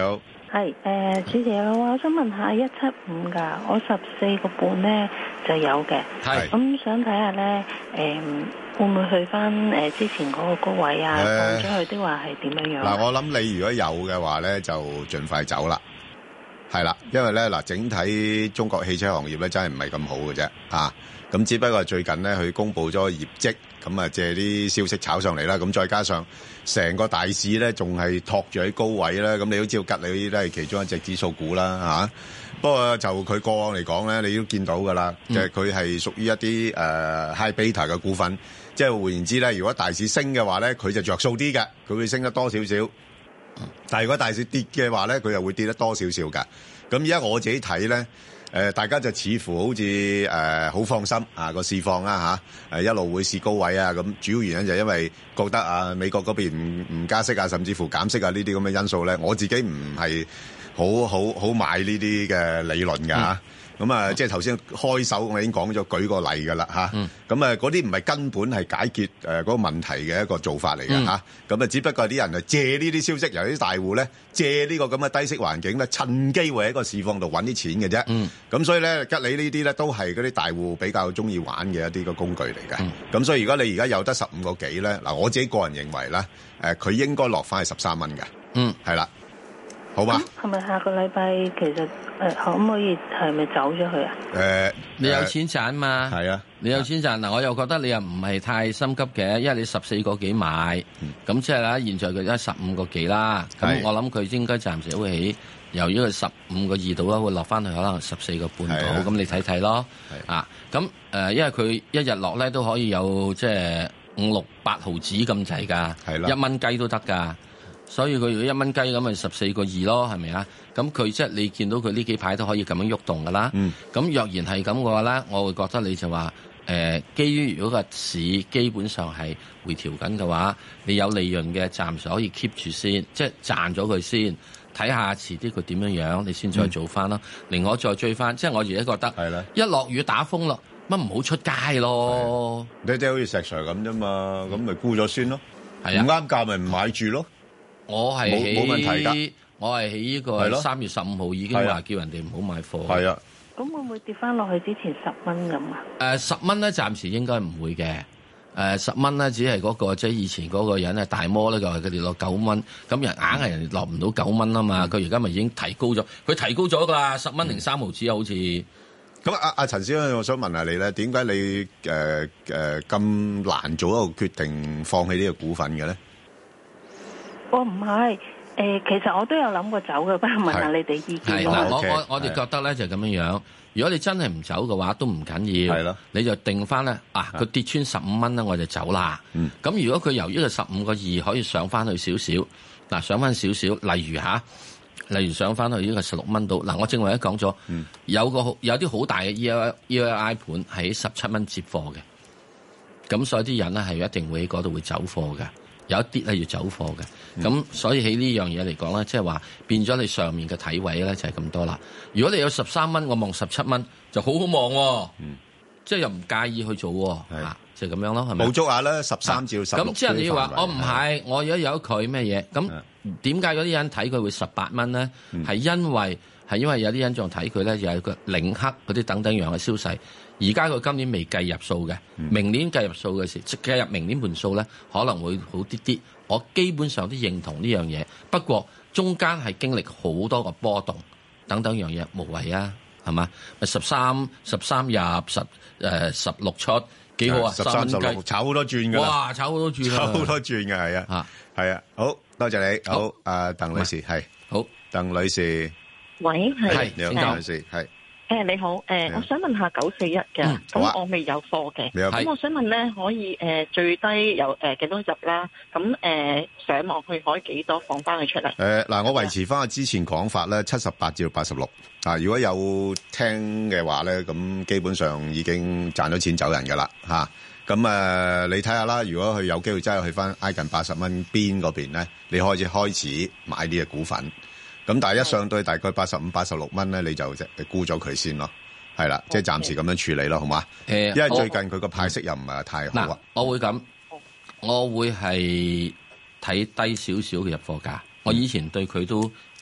係誒，主持人我想問下一七五㗎，我十四個半咧就有嘅， 係咁想睇下咧誒會唔會去翻誒之前嗰個高位啊？放咗去的話係點樣樣？ 嗱，我諗你如果有嘅話咧，就盡快走啦。係啦，因為咧嗱，整體中國汽車行業咧真係唔係咁好嘅啫，啊，咁只不過最近咧佢公布咗業績，咁啊借啲消息炒上嚟啦，咁再加上成個大市咧仲係托住喺高位啦，咁你都知道吉利都係其中一隻指數股啦，嚇。不過就佢過往嚟講咧，你都見到㗎啦，即係佢係屬於一啲誒 high beta 嘅股份，即係換言之咧，如果大市升嘅話咧，佢就着數啲嘅，佢會升得多少少。但係如果大市跌嘅話咧，佢又會跌得多少少㗎。咁而家我自己睇咧，誒大家就似乎好似誒好放心啊個市況啦嚇，誒一路會試高位啊。咁主要原因就係因為覺得啊美國嗰邊唔唔加息啊，甚至乎減息啊呢啲咁嘅因素咧，我自己唔係好好好買呢啲嘅理論㗎嚇。咁啊，即係頭先開手我已經講咗舉個例㗎啦嚇。咁啊，嗰啲唔係根本係解決誒嗰個問題嘅一個做法嚟嘅嚇。咁啊，只不過啲人啊借呢啲消息，由啲大戶咧借呢個咁嘅低息環境咧，趁機會喺個市況度揾啲錢嘅啫。咁所以咧，吉利呢啲咧都係嗰啲大戶比較中意玩嘅一啲個工具嚟嘅。咁所以如果你而家有得十五個幾咧，嗱我自己個人認為咧，誒佢應該落翻去十三蚊嘅。嗯，係啦。好嘛？ 係咪下個禮拜其實誒可唔可以係咪走咗去啊？ 誒， 你有錢賺嘛？ 係啊， 你有錢賺嗱，我又覺得你又唔係太心急嘅，因為你十四個幾買，咁即係啦，現在佢而家十五個幾啦，咁我諗佢應該暫時會起，由於佢十五個二度啦，會落翻去可能十四個半度，咁你睇睇咯。啊，咁誒，因為佢一日落咧都可以有即係五六八毫子咁滯㗎，一蚊雞都得㗎。所以佢如果一蚊雞咁咪十四個二咯，係咪啊？咁佢即係你見到佢呢幾排都可以咁樣喐動噶啦。咁、嗯、若然係咁嘅話咧，我會覺得你就話誒、呃，基於如果個市基本上係回調緊嘅話，你有利潤嘅暫時可以 keep 住先，即係賺咗佢先，睇下遲啲佢點樣樣，你先再做翻咯。另外、嗯、再追翻，即係我而家覺得，一落雨打風咯，乜唔好出街咯？ 你即係好似石 Sir 咁啫嘛，咁咪沽咗先咯。唔啱價咪唔買住咯。 我係冇冇問題㗎， 我係喺呢個三月十五號已經話叫人哋唔好買貨。 係啊， 咁會唔會跌翻落去之前十蚊咁啊？ 誒十蚊咧，暫時應該唔會嘅。誒十蚊咧，只係嗰、嗰個即係以前嗰個人係大摩咧，就係佢哋落九蚊。咁人硬係人哋落唔到九蚊啊嘛。佢而家咪已經提高咗，佢提高咗㗎啦，十蚊零三毫子啊，好似。 咁阿阿陳先生，我想問下你咧，點解你誒誒咁難做一個決定，放棄呢個股份嘅咧？ 我唔係，誒、呃，其實我都有諗過走嘅，不過問下你哋意見。 係嗱，我我我哋覺得咧就咁樣樣。如果你真係唔走嘅話，都唔緊要。係咯，你就定翻咧啊！佢跌穿十五蚊咧，我就走啦。咁、嗯、如果佢由於個十五個二可以上翻去少少，嗱上翻少少，例如吓，例如上翻去呢個十六蚊度。嗱，我正話一講咗，有個有啲好大嘅 E L E L I 盤喺十七蚊接貨嘅，咁所以啲人咧係一定會喺嗰度會走貨嘅。有一啲係要走貨嘅，咁、嗯、所以喺呢樣嘢嚟講咧，即係話變咗你上面嘅體位咧就係咁多啦。如果你有十三蚊，我望十七蚊就好好望喎，嗯、即係又唔介意去做喎，啊，就咁、是、樣咯，係咪？ 捕捉下啦，十三至十六。咁即係你要話我唔係，我而家有佢咩嘢？咁點解嗰啲人睇佢會十八蚊咧？係、嗯、因為係因為有啲人仲睇佢咧，又有個領克嗰啲等等樣嘅消息。而家佢今年未計入數嘅，明年計入數嘅時，即計入明年盤數咧，可能會好啲啲。我基本上都認同呢樣嘢，不過中間係經歷好多個波動，等等樣嘢無謂啊，係嘛？咪十三十三入十誒十六出幾好啊？ 十三十六炒好多轉㗎。 哇！炒好多轉， 炒好多轉嘅係啊，係啊，好多謝你，好啊，鄧女士係， 好鄧女士， 喂係， 你好，鄧女士係。 誒你好，誒我想問下九四一嘅，咁、嗯啊、我未有貨嘅，咁我想問咧，可以誒最低有誒幾多入啦？咁誒上網去可以幾多放翻佢出嚟？ 誒嗱，我維持翻我之前講法咧，七十八至到八十六啊。如果有聽嘅話咧，咁基本上已經賺咗錢走人㗎啦嚇。咁誒你睇下啦，如果佢有機會真係去翻挨近八十蚊邊嗰邊咧，你開始開始買呢隻股份。咁但係一上到大概八十五、八十六蚊咧，你就即係沽咗佢先咯，係啦，即係暫時咁樣處理咯，好嘛？誒，因為最近佢個派息又唔係太好啊。 我會咁，我會係睇低少少嘅入貨價。我以前對佢都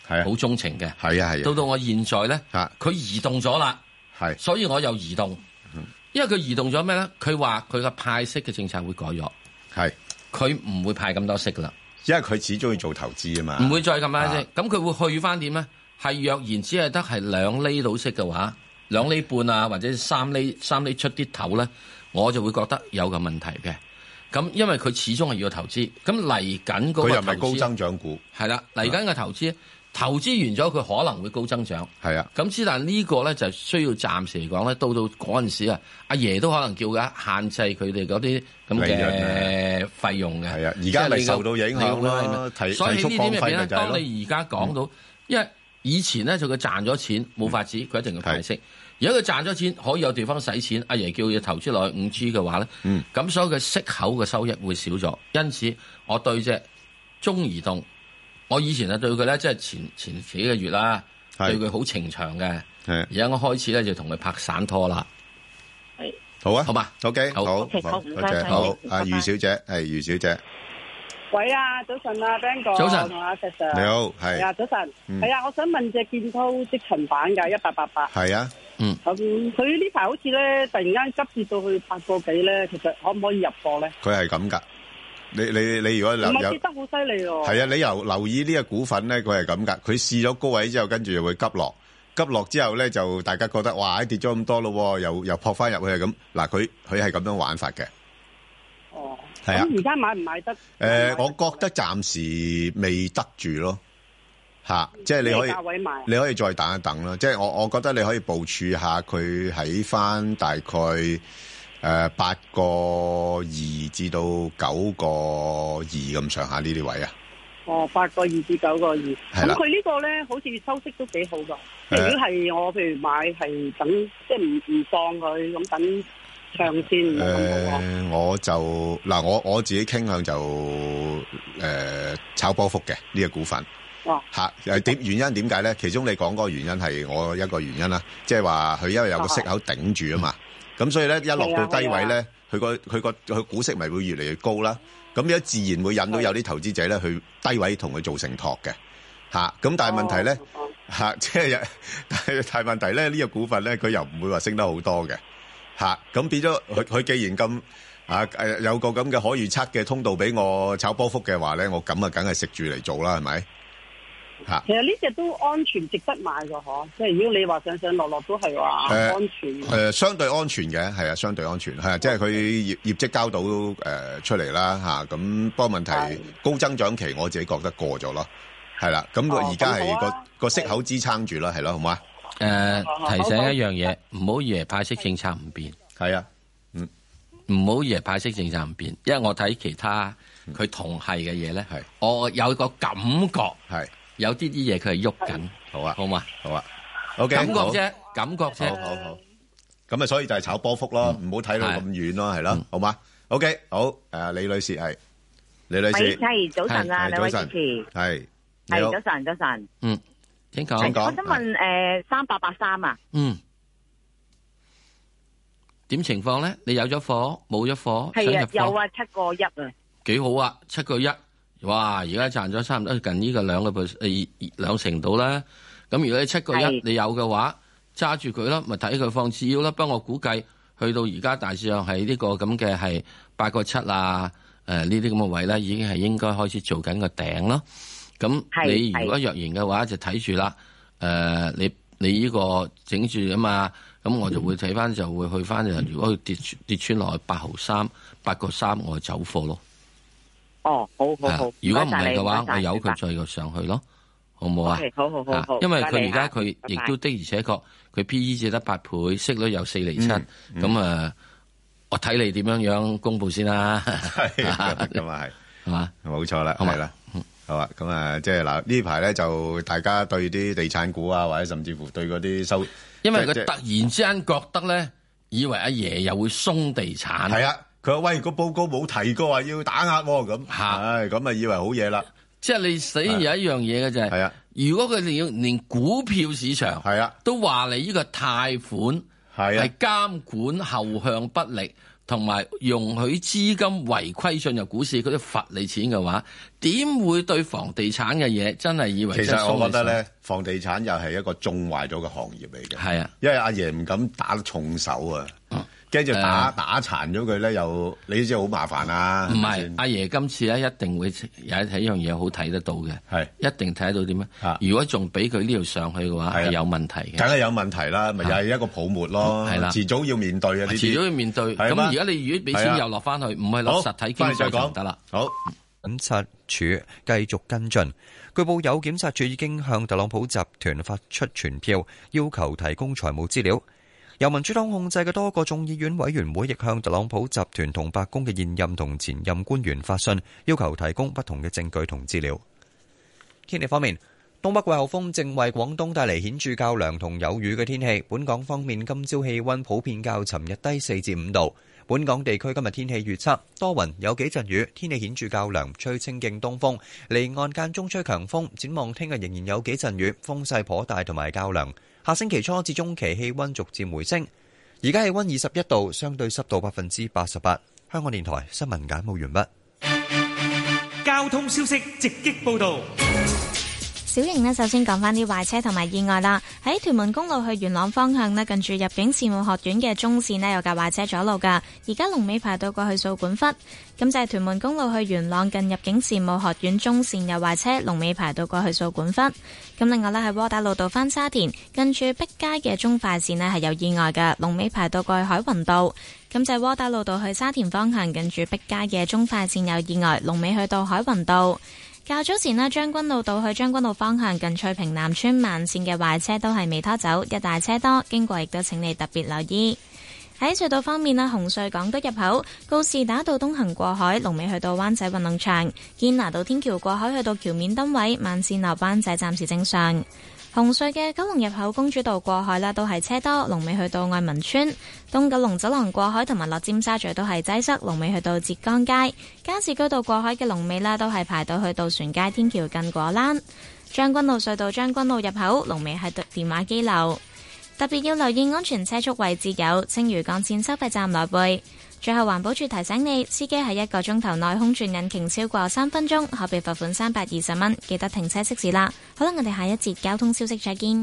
係好鍾情嘅。 係啊係啊。 到到我現在咧，佢移動咗啦， 係， 所以我又移動。因為佢移動咗咩咧？佢話佢個派息嘅政策會改咗， 係， 佢唔會派咁多息噶啦。 因為佢始終要做投資啊嘛， 唔會再咁派息。咁佢會去翻點咧？係若然只係得係兩厘到息嘅話，兩厘半啊，或者三厘三厘出啲頭咧，我就會覺得有個問題嘅。咁因為佢始終係要投資，咁嚟緊嗰個投資，佢又唔係高增長股，係啦，嚟緊嘅投資。投資完咗，佢可能會高增長。 係啊， 咁之但呢個咧就需要暫時嚟講咧，到到嗰陣時啊，阿爺都可能叫㗎限制佢哋嗰啲咁嘅費用嘅。係啊，而家咪受到影響咯。所以喺呢點入邊咧，當你而家講到，因為以前咧就佢賺咗錢冇法子，佢一定要派息。如果佢賺咗錢可以有地方使錢，阿爺叫佢投資落去五 G 嘅話咧，咁、嗯、所以佢息口嘅收益會少咗。因此，我對隻中移動。我以前啊對佢咧，即係前前幾個月啦，對佢好情長嘅。而家我開始咧就同佢拍散拖啦。 係好啊， 好嘛 ，OK，好，好， 好，唔該晒。 好，阿余小姐，係余小姐。 喂啊，早晨啊 ，Ben 哥， 早晨， 同阿石 Sir。 你好，係。 係啊，早晨。係啊，我想問隻建滔積層板㗎，一八八八。 係啊。 嗯。 咁佢呢排好似咧，突然間急跌到去八個幾咧，其實可唔可以入貨咧？ 佢係咁㗎。你你你如果留唔係跌得好犀利喎， 係啊！你留留意呢個股份咧，佢係咁噶。佢試咗高位之後，跟住又會急落，急落之後咧就大家覺得哇，跌咗咁多咯，又又撲翻入去咁。嗱，佢佢係咁樣玩法嘅。 哦， 係啊。 咁而家買唔買得？誒、 呃，我覺得暫時未得住咯，嚇、啊，即係你可以價位買， 你可以再等一等咯。即係我我覺得你可以部署下佢喺翻大概。誒，八個二至到九個二咁上下呢啲位啊？ 哦，八個二至九個二，咁佢呢個咧，好似收息都幾好噶。即係如果係我譬如買係等，即係唔唔放佢咁等長線。誒、 呃，我就嗱，我我自己傾向就誒、呃、炒波幅嘅呢個股份。 哇！ 吓誒，點原因點解咧？其中你講嗰個原因係我一個原因啦，即係話佢因為有個息口頂住啊嘛。咁所以咧，一落到低位咧，佢個佢個佢股息咪會越嚟越高啦。咁樣自然會引到有啲投資者咧去低位同佢做承托嘅嚇。咁但係問題咧嚇，即係但係但係問題咧，呢個股份咧佢又唔會話升得好多嘅嚇。咁變咗佢佢既然咁啊誒有個咁嘅可預測嘅通道俾我炒波幅嘅話咧，我咁啊梗係食住嚟做啦，係咪？ 其實呢隻都安全，值得買㗎嗬。即係如果你話上上落落都係話安全。誒、 呃呃，相對安全嘅，係啊，相對安全係啊，即係佢業業績交到誒、呃、出嚟啦吓。咁不過問題高增長期，我自己覺得過咗咯，係啦。咁佢而家係個個息口支撐住啦，係咯，好嘛？ 誒、呃，提醒一樣嘢，唔好以為派息政策唔變。 係啊，嗯， 唔好以為派息政策唔變，因為我睇其他佢同係嘅嘢咧，係我有個感覺係。有啲啲嘢佢係喐緊， 好啊， 好嘛， 好啊 ，OK， 感覺啫，感覺啫， 好好好，咁啊，所以就係炒波幅咯，唔好睇到咁遠咯，係咯，好嘛 ，OK，好，誒，李女士係，李女士， 係早晨啊，兩位主持， 係， 係早晨，早晨， 嗯，請講， 請講， 我想問誒，三八八三啊， 嗯，點情況咧？你有咗貨，冇咗貨， 係啊，有啊，七個一啊， 幾好啊，七個一。哇！而家賺咗差唔多近呢個兩個 percent 兩成度啦。咁如果你七個一你有嘅話，揸住佢啦，咪睇佢放次要啦。不過我估計去到而家大致上係呢個咁嘅係八個七啊，誒呢啲咁嘅位咧，已經係應該開始做緊個頂咯。咁你如果若然嘅話，就睇住啦。誒、呃，你你呢個整住啊嘛，咁我就會睇翻就會去翻。如果佢跌跌穿落去八毫三、八個三，我就走貨咯。 哦，好好好。 如果唔係嘅話，我由佢再上去咯，好唔好啊？ 好好好好。 因為佢而家佢亦都的而且確，佢 P E 只得八倍，息率有四厘七，咁啊，我睇你點樣樣公布先啦。 係咁啊，係係嘛， 冇錯啦，係啦，好啊。咁啊，即係嗱呢排咧就大家對啲地產股啊，或者甚至乎對嗰啲收， 因為佢突然之間覺得咧，以為阿爺又會鬆地產。 係啊。佢話喂，個報告冇提過話要打壓喎，咁，唉，咁啊以為好嘢啦。 即係你死有一樣嘢嘅就係，係啊，如果佢哋要連股票市場係啊，都話你呢個貸款係監管後向不力， 同埋容許資金違規進入股市，佢都罰你錢嘅話，點會對房地產嘅嘢真係以為？ 其實我覺得咧，房地產又係一個縱壞咗嘅行業嚟嘅。 係啊， 因為阿爺唔敢打重手啊。嗯跟住打、呃、打殘咗佢咧，又你知好麻煩啊！ 唔係阿爺今次咧，一定會有一睇一樣嘢好睇得到嘅，係一定睇得到點啊！如果仲俾佢呢度上去嘅話，係有問題嘅，梗係有問題啦，咪又係一個泡沫咯，係啦，遲早要面對啊！呢啲遲早要面對。咁而家你如果俾錢又落翻去，唔係攞實體經濟就得啦。好， 檢察署繼續跟進，據報有檢察署已經向特朗普集團發出傳票，要求提供財務資料。由民主黨控制嘅多個眾議院委員會亦向特朗普集團同白宮嘅現任同前任官員發信，要求提供不同嘅證據同資料。天氣方面，東北季候風正為廣東帶嚟顯著較涼同有雨嘅天氣。本港方面，今朝氣溫普遍較尋日低四至五度。本港地區今日天氣預測多雲，有幾陣雨，天氣顯著較涼，吹清勁東風，離岸間中吹強風。展望聽日仍然有幾陣雨，風勢頗大同埋較涼。下星期初至中期氣溫逐漸回升，而家氣溫二十一度，相對濕度百分之八十八。香港電台新聞簡報完畢。 交通消息直擊報道。 小型呢，首先講翻啲壞車同埋意外啦。喺屯門公路去元朗方向呢，近住入境事務學院嘅中線呢，有架壞車阻路噶，而家龍尾排到過去掃管笏。咁就係屯門公路去元朗近入境事務學院中線有壞車，龍尾排到過去掃管笏。咁另外呢，喺窩打老道翻沙田近住碧街嘅中快線呢，係有意外嘅，龍尾排到過去海雲道。咁就係窩打老道去沙田方向近住碧街嘅中快線有意外，龍尾去到海雲道。較早前呢，將軍澳道去將軍澳方向近翠屏南村慢線嘅壞車都係未拖走，一大車多，經過亦都請你特別留意。喺隧道方面呢，紅隧港島入口告士打道東行過海，龍尾去到灣仔運動場；堅拿道天橋過海去到橋面燈位，慢線落灣仔暫時正常。紅隧嘅九龍入口公主道過海啦，都係車多，龍尾去到愛民村；東九龍走廊過海同埋落尖沙咀都係擠塞，龍尾去到浙江街；加士居道過海嘅龍尾啦，都係排到去渡船街天橋近果欄；將軍澳隧道將軍澳入口龍尾係電話機樓。特別要留意安全車速位置有青嶼幹線收費站來回。最後環保署提醒你，司機喺一個鐘頭內空轉引擎超過三分鐘，可被罰款三百二十蚊。記得停車熄匙啦。好啦，我哋下一節交通消息再見。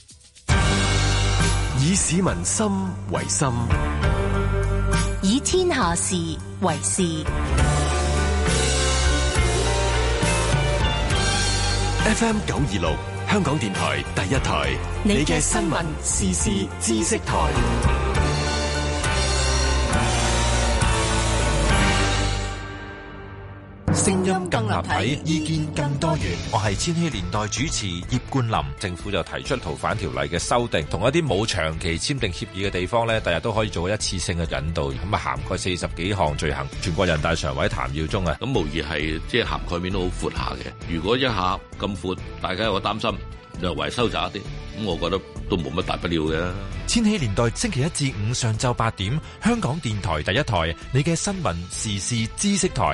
以市民心為心， 以天下事為事。 F M 九二六香港電台第一台，你嘅新聞時事知識台。聲音更立體，意見更多元。 我係千禧年代主持葉冠霖。政府就提出逃犯條例嘅修訂，同一啲冇長期簽訂協議嘅地方呢，第日都可以做一次性嘅引渡，咁啊涵蓋四十幾項罪行。全國人大常委譚耀宗啊， 咁無疑係即係涵蓋面都好闊下嘅。如果一下咁闊，大家有個擔心，略為收窄一啲，咁我覺得都冇乜大不了嘅。 千禧年代星期一至五上晝八點，香港電台第一台，你嘅新聞時事知識台。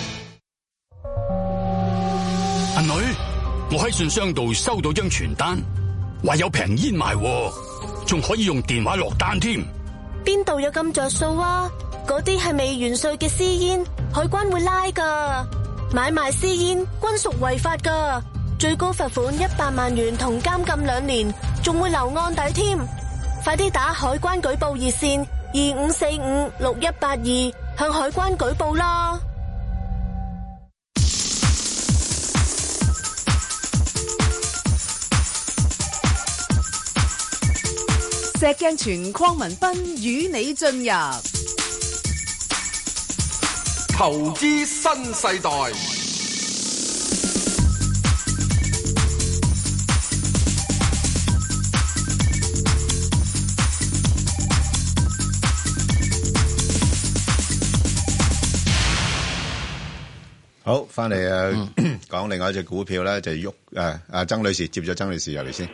阿女，我喺信箱度收到張傳單，話有平煙賣，仲可以用電話落單添。 邊度有咁着數啊？嗰啲係未完稅嘅私煙，海關會拉噶。買賣私煙均屬違法噶，最高罰款一百萬元同監禁兩年，仲會留案底添。快啲打海關舉報熱線二五四五六一八二向海關舉報啦。 石鏡泉鄺民彬與你進入投資新世代。 好，翻嚟誒，講另外一隻股票咧，就喐誒，阿曾女士接咗曾女士入嚟先。誒，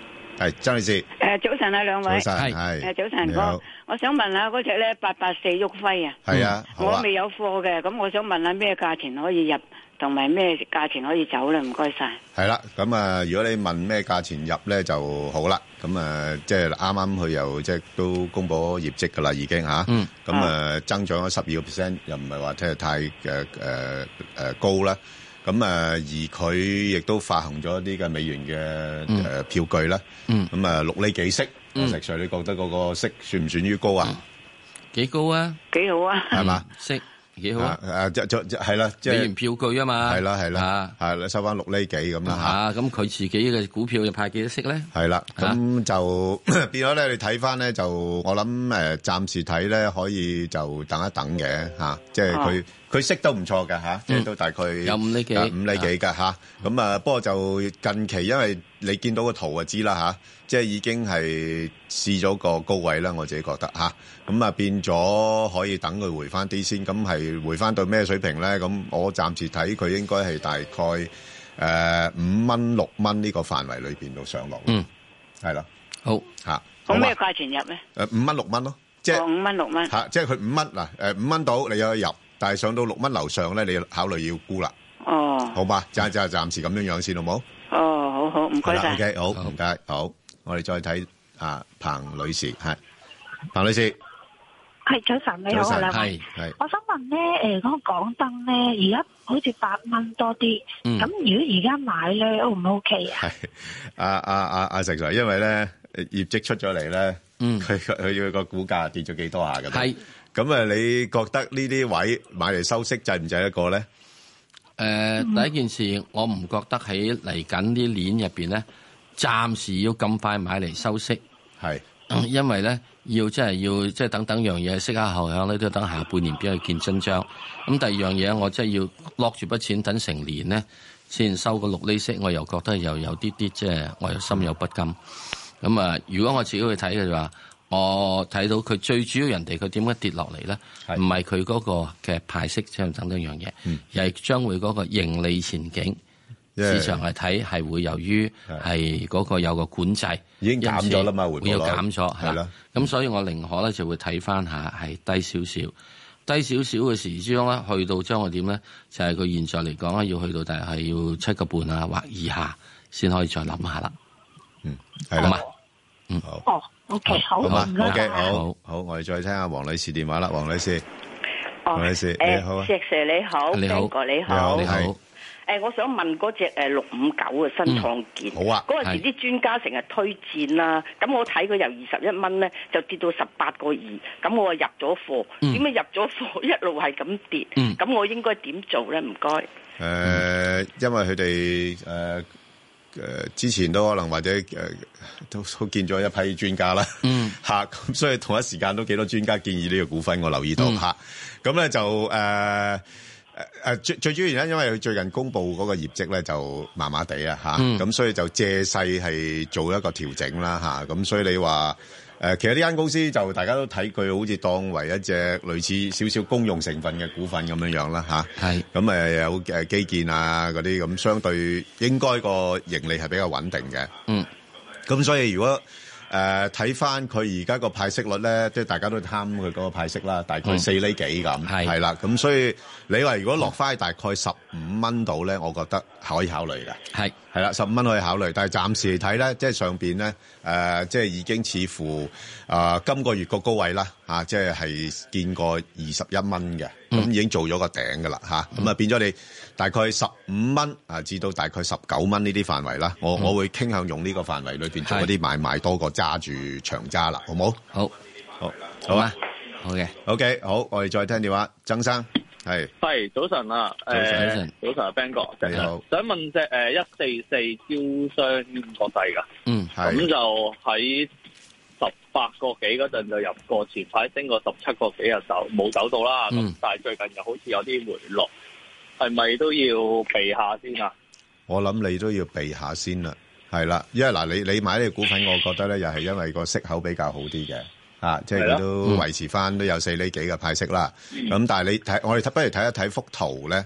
係張女士。 誒，早晨啊，兩位。 早晨係。 誒，早晨，我我想問下嗰隻咧八八四旭輝啊。 係啊， 我未有貨嘅，咁我想問下咩價錢可以入，同埋咩價錢可以走咧？唔該晒。 係啦，咁啊，如果你問咩價錢入咧就好啦。咁啊，即係啱啱佢又即係都公佈業績噶啦，已經嚇。嗯。咁啊，增長咗十二個 percent，又唔係話即係太誒誒誒高啦。咁誒，而佢亦都發行咗一啲嘅美元嘅誒票據啦。嗯。咁啊，六厘幾息，石 Sir，你覺得嗰個息算唔算於高啊？ 幾高啊？ 幾好啊？ 係嘛？ 息幾好啊？ 誒，即即係啦，即係美元票據啊嘛。 係啦，係啦，係啦，收翻六厘幾咁啦嚇。咁佢自己嘅股票又派幾多息咧？ 係啦，咁就變咗咧。你睇翻咧，就我諗誒，暫時睇咧，可以就等一等嘅嚇。即係佢佢息都唔錯㗎嚇，即係都大概有五厘幾， 五厘幾㗎嚇。咁啊，不過就近期因為你見到個圖就知啦嚇，即係已經係試咗個高位啦。我自己覺得嚇，咁啊變咗可以等佢回翻啲先。咁係回翻到咩水平咧？咁我暫時睇佢應該係大概誒五蚊六蚊呢個範圍裏邊度上落。嗯，係啦， 好嚇。 咁咩價錢入咧？ 誒五蚊六蚊咯，即係五蚊六蚊嚇，即係佢五蚊嗱誒五蚊到你有入，但係上到六蚊樓上咧，你要考慮要沽啦。 哦， 好嘛，就就暫時咁樣樣先，好冇？ 哦，好好，唔該晒。 O K， 好，唔該，好，我哋再睇啊，彭女士，係彭女士， 係早晨，你好啊，兩位， 係， 我想問咧，誒，嗰個港燈咧，而家好似八蚊多啲，咁如果而家買咧，O 唔 O K 啊？係， 阿阿阿阿石 Sir，因為咧業績出咗嚟咧，嗯，佢佢要個股價跌咗幾多下㗎？係，咁啊，你覺得呢啲位買嚟收息制唔制一個咧？ 誒、呃，第一件事，我唔覺得喺嚟緊啲年入邊咧，暫時要咁快買嚟收息， 係、 嗯，因為咧要即係要即係等等樣嘢，息下後響咧都等下半年邊去見真章。咁第二樣嘢，我即係要落住筆錢等成年咧，先收個六厘息，我又覺得又有啲啲即係我又心有不甘。咁啊，如果我自己去睇嘅話，我睇到佢最主要人哋佢點解跌落嚟咧？唔係佢嗰個嘅派息，即係等等樣嘢，嗯、而係將會嗰個盈利前景、yeah. 市場嚟睇係會由於係嗰個有個管制， 已經減咗啦嘛， 會有減咗係啦。咁所以我寧可咧就會睇翻下係低少少，低少少嘅時鐘咧，去到將我點咧，就係、是、佢現在嚟講咧，要去到大概係要七個半啊或以下先可以再諗下啦。 嗯，係啦。 嗯， 好。哦，O K，好，唔該。 O K，好，好，我哋再聽下黃女士電話啦，黃女士。 哦， 黃女士，你好。 石 Sir 你好， 你好， 你好， 你好。 誒，我想問嗰隻誒六五九嘅新創建。好啊。嗰陣時啲專家成日推薦啦，咁我睇佢由二十一蚊咧，就跌到十八個二，咁我入咗貨，點解入咗貨一路係咁跌？咁我應該點做咧？唔該。 誒，因為佢哋誒。誒、呃、之前都可能或者誒、呃、都都見咗一批專家啦，嗯嚇，咁所以同一時間都幾多專家建議呢個股份，我留意到嚇，咁、嗯、咧就誒誒誒最最主要原因，因為佢最近公布嗰個業績咧就麻麻地啊嚇，咁、嗯、所以就借勢係做一個調整啦嚇，咁、啊、所以你話。誒，其實呢間公司就大家都睇佢好似當為一隻類似少少公用成分嘅股份咁樣樣啦嚇。係。咁誒有誒基建啊嗰啲咁，相對應該個盈利係比較穩定嘅。嗯。咁所以如果誒睇翻佢而家個派息率咧，即係大家都貪佢嗰個派息啦，大概四厘幾咁。係。係啦，咁所以你話如果落翻大概十五蚊度咧，我覺得可以考慮嘅。係。係啦，十五蚊可以考慮，但係暫時嚟睇咧，即係上邊咧，誒、呃，即係已經似乎啊、呃，今個月個高位啦，嚇、啊，即係係見過二十一蚊嘅，咁、嗯、已經做咗個頂噶啦，嚇、啊，咁、嗯、啊變咗你大概十五蚊啊，至到大概十九蚊呢啲範圍啦，我、嗯、我會傾向用呢個範圍裏邊做一啲買賣多過揸住長揸啦，好冇？好，好，好啊，好嘅 ，OK， 好，我哋再聽電話，曾生。係，係早晨啊， 早晨， 早晨啊 Ben 哥， 你好， 想問隻誒一四四招商國際噶，嗯，係，咁就喺十八個幾嗰陣就入過，前排升過十七個幾日就冇走到啦，咁、嗯、但係最近又好似有啲回落，係咪都要避下先啊？ 我諗你都要避下先啦，係啦，因為嗱你你買呢個股份，我覺得咧又係因為個息口比較好啲嘅。啊，即係佢都維持翻都有四厘幾嘅派息啦。咁、嗯、但係你睇，我哋不如睇一睇幅圖咧。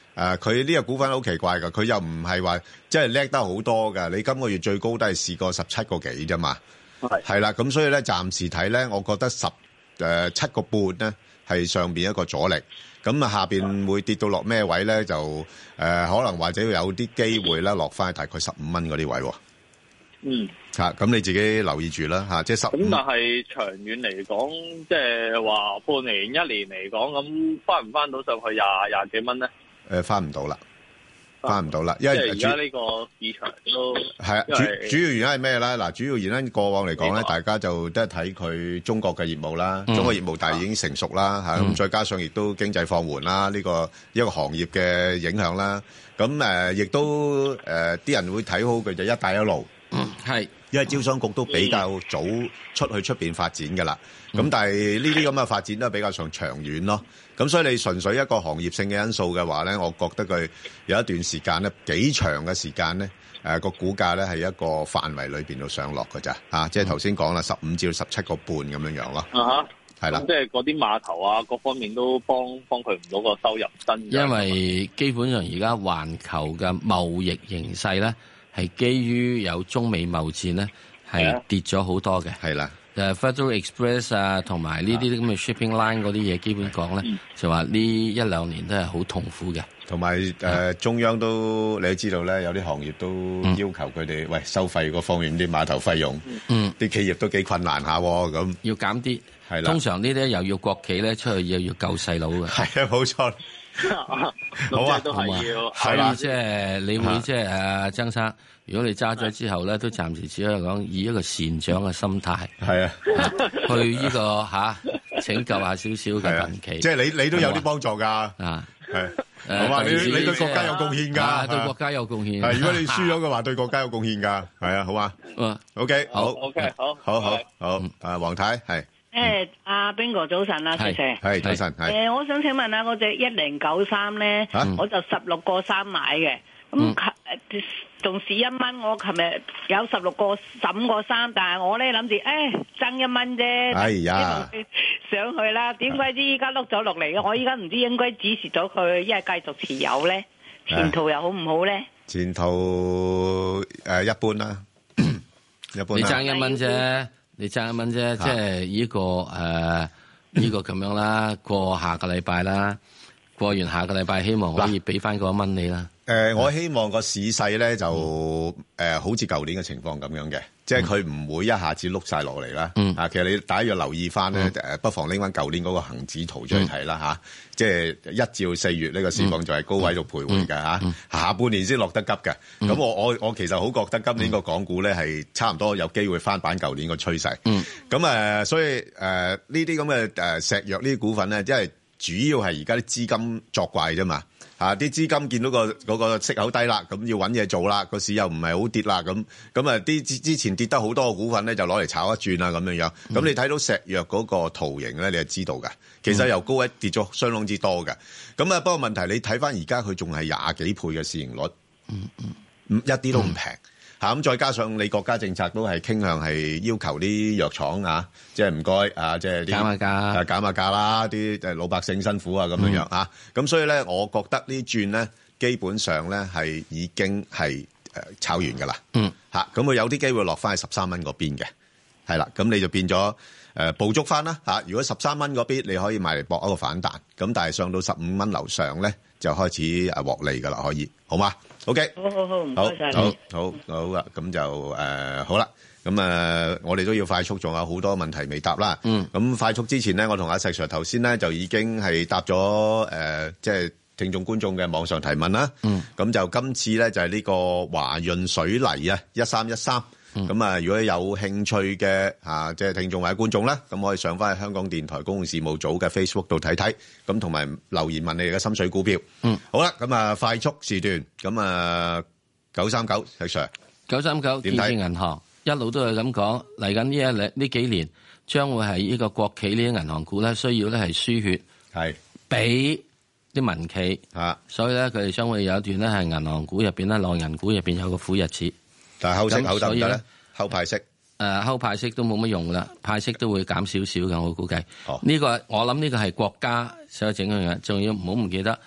誒，佢呢個股份好奇怪㗎，佢又唔係話即係叻得好多㗎。你今個月最高都係試過十七個幾啫嘛。係係啦，咁所以咧，暫時睇咧，我覺得十誒七個半咧係上邊一個阻力。咁啊，下邊會跌到落咩位咧？就誒、呃、可能或者有啲機會咧，落翻大概十五蚊嗰啲位。 嗯。 嚇，咁你自己留意住啦嚇，即係十五。 咁但係長遠嚟講，即係話半年、一年嚟講，咁翻唔翻到上去廿廿幾蚊咧？ 誒，翻唔到啦。翻唔到啦，因為而家呢個市場都係啊，主主要原因係咩咧？嗱，主要原因過往嚟講咧，大家就都係睇佢中國嘅業務啦，嗯、中國業務但係已經成熟啦嚇，咁、嗯、再加上亦都經濟放緩啦，呢、呢個一個行業嘅影響啦，咁誒亦都誒啲、呃、人會睇好佢就一帶一路，係、嗯，因為招商局都比較早出去出邊發展㗎啦，咁、嗯、但係呢啲咁嘅發展都係比較上長遠咯。咁所以你純粹一個行業性嘅因素嘅話咧，我覺得佢有一段時間咧，幾長嘅時間咧，誒、呃、個股價咧係一個範圍裏邊度上落㗎咋，啊，即係頭先講啦，十五至到十七個半咁樣樣咯。啊哈，係啦， 即係嗰啲碼頭啊，各方面都幫幫佢唔到個收入增長。 因為基本上而家環球嘅貿易形勢咧，係基於有中美貿戰咧，係跌咗好多嘅。係啦。誒 Federal Express 啊，同埋呢啲咁嘅 shipping line 嗰啲嘢，基本講咧，就話呢一兩年都係好痛苦嘅。 同埋誒中央都你都知道咧，有啲行業都要求佢哋、嗯、喂收費嗰方面啲碼頭費用，嗯，啲企業都幾困難下喎，咁要減啲係啦。通常呢啲又要國企咧出去又要救細佬嘅， 係啊，冇錯。好啊， 都係要係啦，即係你會即係誒曾生。如果你揸咗之後咧，都暫時只可以講以一個善長嘅心態，係啊，去呢、這個吓、啊、拯救下少少嘅民企， 即係你你都有啲幫助㗎，啊，係，好嘛？你你對國家有貢獻㗎， 對國家有貢獻。 係，如果你輸咗嘅話，對國家有貢獻㗎，係啊，好嘛？嗯 ，OK，好 ，OK，好， 好好好，啊，黃太係。 誒，阿邊個早晨啊，謝謝。 係早晨，係。 誒，我想請問下嗰隻一零九三咧，我就十六個三買嘅，咁誒仲蝕一蚊。我琴日有十六個十五個三，但係我咧諗住誒爭一蚊啫， 哎呀， 上去啦。點鬼知依家碌咗落嚟嘅？我依家唔知應該止蝕咗佢，一係繼續持有咧？前途又好唔好咧？ 前途誒一般啦，一般。 你爭一蚊啫。你爭一蚊啫，即係呢個誒呢個咁樣啦。過下個禮拜啦，過完下個禮拜，希望可以俾翻嗰一蚊你啦。 誒、呃，我希望個市勢咧就誒、呃、好似舊年嘅情況咁樣嘅，即係佢唔會一下子碌晒落嚟啦。嗯，啊，其實你大家要留意翻咧，誒、嗯，不妨拎翻舊年嗰個恒指圖出嚟睇啦嚇。即係一至到四月呢個市況就係高位度徘徊嘅嚇，嗯嗯、下半年先落得急嘅。咁、嗯、我我我其實好覺得今年個港股咧係差唔多有機會翻版舊年個趨勢。嗯，咁誒、呃，所以誒呢啲咁嘅誒石藥呢啲股份咧，因為主要係而家啲資金作怪啫嘛。啊！啲資金見到個嗰個息口低啦，咁要揾嘢做啦，個市又唔係好跌啦，咁咁啊啲之之前跌得好多嘅股份咧，就攞嚟炒一轉啦咁樣樣。咁、嗯、你睇到石藥嗰個圖形咧，你就知道㗎。其實由高位跌咗相當之多㗎。咁啊，不過問題你睇翻而家佢仲係廿幾倍嘅市盈率，嗯嗯，一啲都唔平。嚇咁，再加上你國家政策都係傾向係要求啲藥廠啊，即係唔該啊，即係啲減下價， 減下價啦，啲誒老百姓辛苦啊咁樣樣啊，咁所以咧，我覺得呢轉咧，基本上咧係已經係誒炒完㗎啦。嗯，嚇咁佢有啲機會落翻去十三蚊嗰邊嘅，係啦，咁你就變咗誒捕捉翻啦嚇。如果十三蚊嗰邊你可以買嚟搏一個反彈，咁但係上到十五蚊樓上咧就開始誒獲利㗎啦，可以好嗎？OK， 好好好，唔該晒你。 好好好啦，咁就誒、呃、好啦，咁誒、呃、我哋都要快速，仲有好多問題未答啦。嗯，咁快速之前咧，我同阿石 Sir 頭先咧就已經係答咗誒、呃，即係聽眾觀眾嘅網上提問啦。嗯，咁就今次咧就係、是、呢個華潤水泥啊，一三一三。咁啊，如果有興趣嘅啊，即係聽眾或者觀眾啦，咁可以上翻去香港電台公共事務組嘅 Facebook 度睇睇，咁同埋留言問你哋嘅心水股票。嗯，好啦，咁啊快速時段，咁啊九三九石 Sir， 九三九建設銀行一路都係咁講，嚟緊呢一兩呢幾年將會係呢個國企呢啲銀行股咧，需要咧係輸血，係俾啲民企啊，所以咧佢哋將會有一段咧係銀行股入邊咧，內銀股入邊有個苦日子。 但係後息後得唔得咧？後派息， 誒後派息都冇乜用啦，派息都會減少少嘅，我估計。呢、哦呢個我諗呢個係國家所整嘅嘢，仲要唔好唔記得。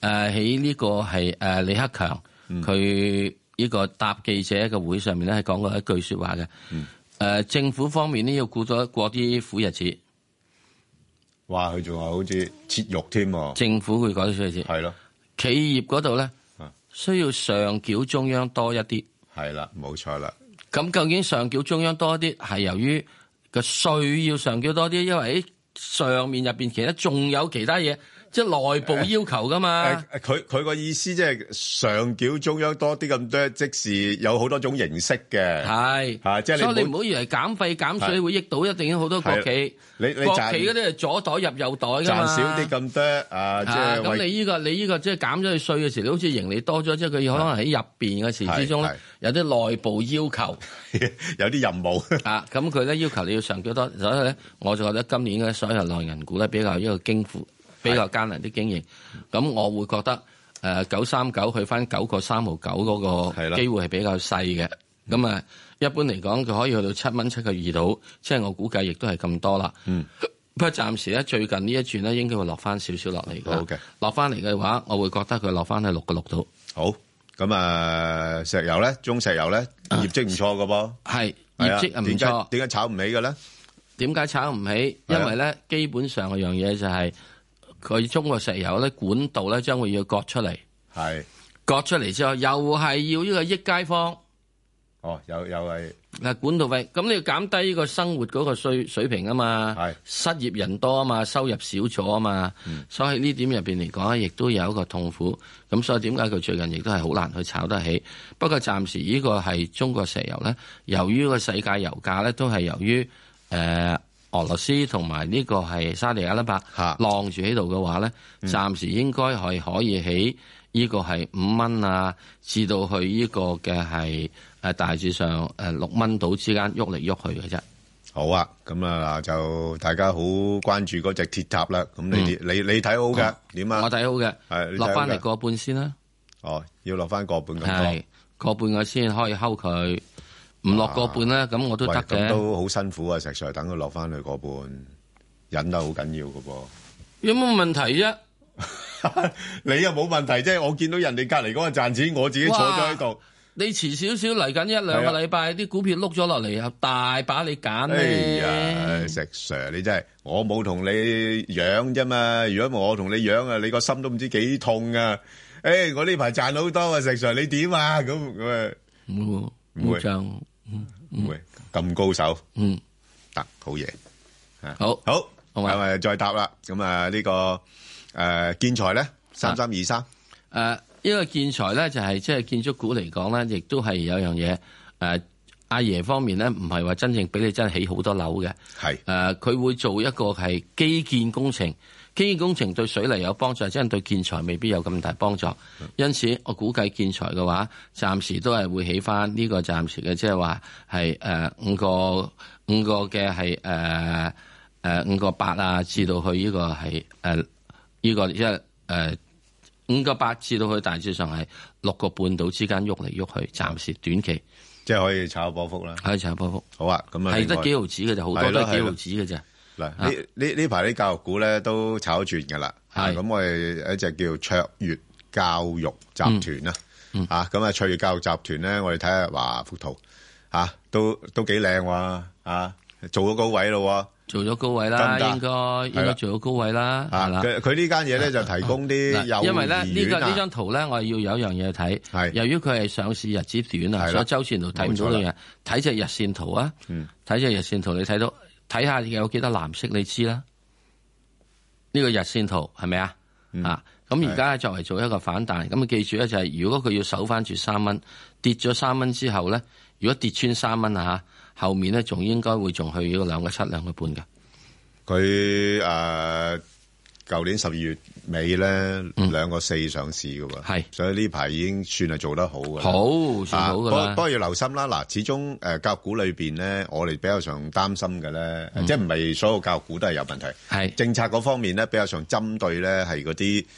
誒喺呢個係誒李克強佢呢個答記者嘅會上面咧，係講過一句説話嘅。誒、嗯呃、政府方面呢，要顧咗過啲苦日子。 哇！佢仲話好似切肉添喎。 政府會講啲苦日子。係咯。企業嗰度咧，需要上繳中央多一啲。 係啦，冇錯啦。 咁究竟上繳中央多啲係由於個稅要上繳多啲，因為喺上面入邊其實仲有其他嘢，即係內部要求噶嘛。 佢佢個意思即係上繳中央多啲咁多，即是有好多種形式嘅。係啊，即係所以你唔好以為減費減稅會益到一定有好多國企。你你國企嗰啲係左袋入右袋噶嘛。賺少啲咁多啊，即係咁你呢個你呢個即係減咗佢稅嘅時，你好似盈利多咗，即係佢可能喺入邊嘅時之中咧，有啲內部要求， 有啲任務啊。咁佢咧要求你要上繳多，所以咧我就覺得今年嘅所有內銀股咧比較一個經苦。比較艱難啲經營，咁我會覺得誒九三九去翻九個三毫九嗰個機會係比較細嘅。咁啊，一般嚟講佢可以去到七蚊七個二度，即係我估計亦都係咁多啦。嗯，不過暫時咧最近呢一轉咧應該會落翻少少落嚟嘅。好嘅，落翻嚟嘅話，我會覺得佢落翻去六個六度。 好，咁啊石油咧，中石油咧業績唔錯嘅噃， 係業績唔錯。 點解炒唔起嘅咧？ 點解炒唔起？因為咧基本上嘅樣嘢就係。佢中國石油咧管道咧將會要割出嚟，係割出嚟之後又係要呢個益街坊。 哦，又又係嗱管道費，咁你要減低呢個生活嗰個水水平啊嘛，係失業人多啊嘛，收入少咗啊嘛，嗯、所以呢點入邊嚟講咧，亦都有一個痛苦。咁所以點解佢最近亦都係好難去炒得起？不過暫時呢個係中國石油咧，由於個世界油價咧都係由於誒。呃俄羅斯同埋呢個係沙地阿拉伯晾住喺度嘅話咧，暫時應該係可以喺呢個係五蚊啊，至到去呢個嘅係誒大致上誒六蚊度之間喐嚟喐去嘅啫。 好啊，咁啊就大家好關注嗰隻鐵塔啦。咁你、嗯、你你睇好嘅點啊？ 我睇好嘅，係落翻嚟個半先啦。 哦，要落翻個半咁多， 係個半我先可以睺佢。唔落個半咧，咁我都得嘅。 咁都好辛苦啊！石 Sir 等佢落翻去個半，忍得好緊要㗎噃。 有冇問題啫？ 你又冇問題啫。我見到人哋隔離嗰個賺錢，我自己坐咗喺度。 你遲少少嚟緊一兩個禮拜，啲股票碌咗落嚟，又大把你揀咧。 哎呀，石 Sir 你真係，我冇同你養啫嘛。如果我同你養啊，你個心都唔知幾痛啊！誒，我呢排賺好多啊，石 Sir 你點啊？咁咁啊， 唔會賺。 唔會咁高手， 嗯， 得好嘢， 好好，咁啊再答啦。咁啊呢個誒建材咧，三三二三，誒呢個建材咧就係即係建築股嚟講咧，亦都係有樣嘢誒，阿爺方面咧唔係話真正俾你真係起好多樓嘅，係誒佢會做一個係基建工程。基建工程對水泥有幫助，即係對建材未必有咁大幫助。因此，我估計建材嘅話，暫時都係會起翻呢個暫時嘅，即係話係誒五個五個嘅係誒誒五個八啊，至到去呢個係誒呢個即係誒五個八至到去大致上係六個半度之間喐嚟喐去，暫時短期即係可以炒波幅啦。 可以炒波幅。 好啊，咁啊係得幾毫子嘅就好多都係幾毫子嘅啫。 嗱，呢呢呢排啲教育股咧都炒轉㗎啦，咁我哋一隻叫卓越教育集團啦，嗯嗯、啊咁啊卓越教育集團咧，我哋睇下華福圖，嚇、啊、都都幾靚喎，啊做咗高位咯， 做咗高位啦，應該應該做咗高位啦，係啦。 佢佢呢間嘢咧就提供啲幼兒園啊， 因為咧呢個呢張圖咧，我係要有一樣嘢睇，係由於佢係上市日子短啊，所以周線圖睇唔到嘅嘢，睇隻日線圖啊，睇隻日線圖你睇到。睇下有幾多藍色，你知啦。呢、這個日線圖係咪啊？嗯、啊，咁而家作為做一個反彈，咁啊記住咧就係、是，如果佢要守翻住三蚊，跌咗三蚊之後咧，如果跌穿三蚊啊嚇，後面咧仲應該會仲去呢個兩個七兩個半嘅。 佢誒舊年十二月尾咧兩個四上市嘅喎，係，所以呢排已經算係做得好嘅， 好算好嘅啦。 不過要留心啦，嗱，始終誒教育股裏邊咧，我哋比較上擔心嘅咧，即係唔係所有教育股都係有問題，係政策嗰方面咧比較上針對咧係嗰啲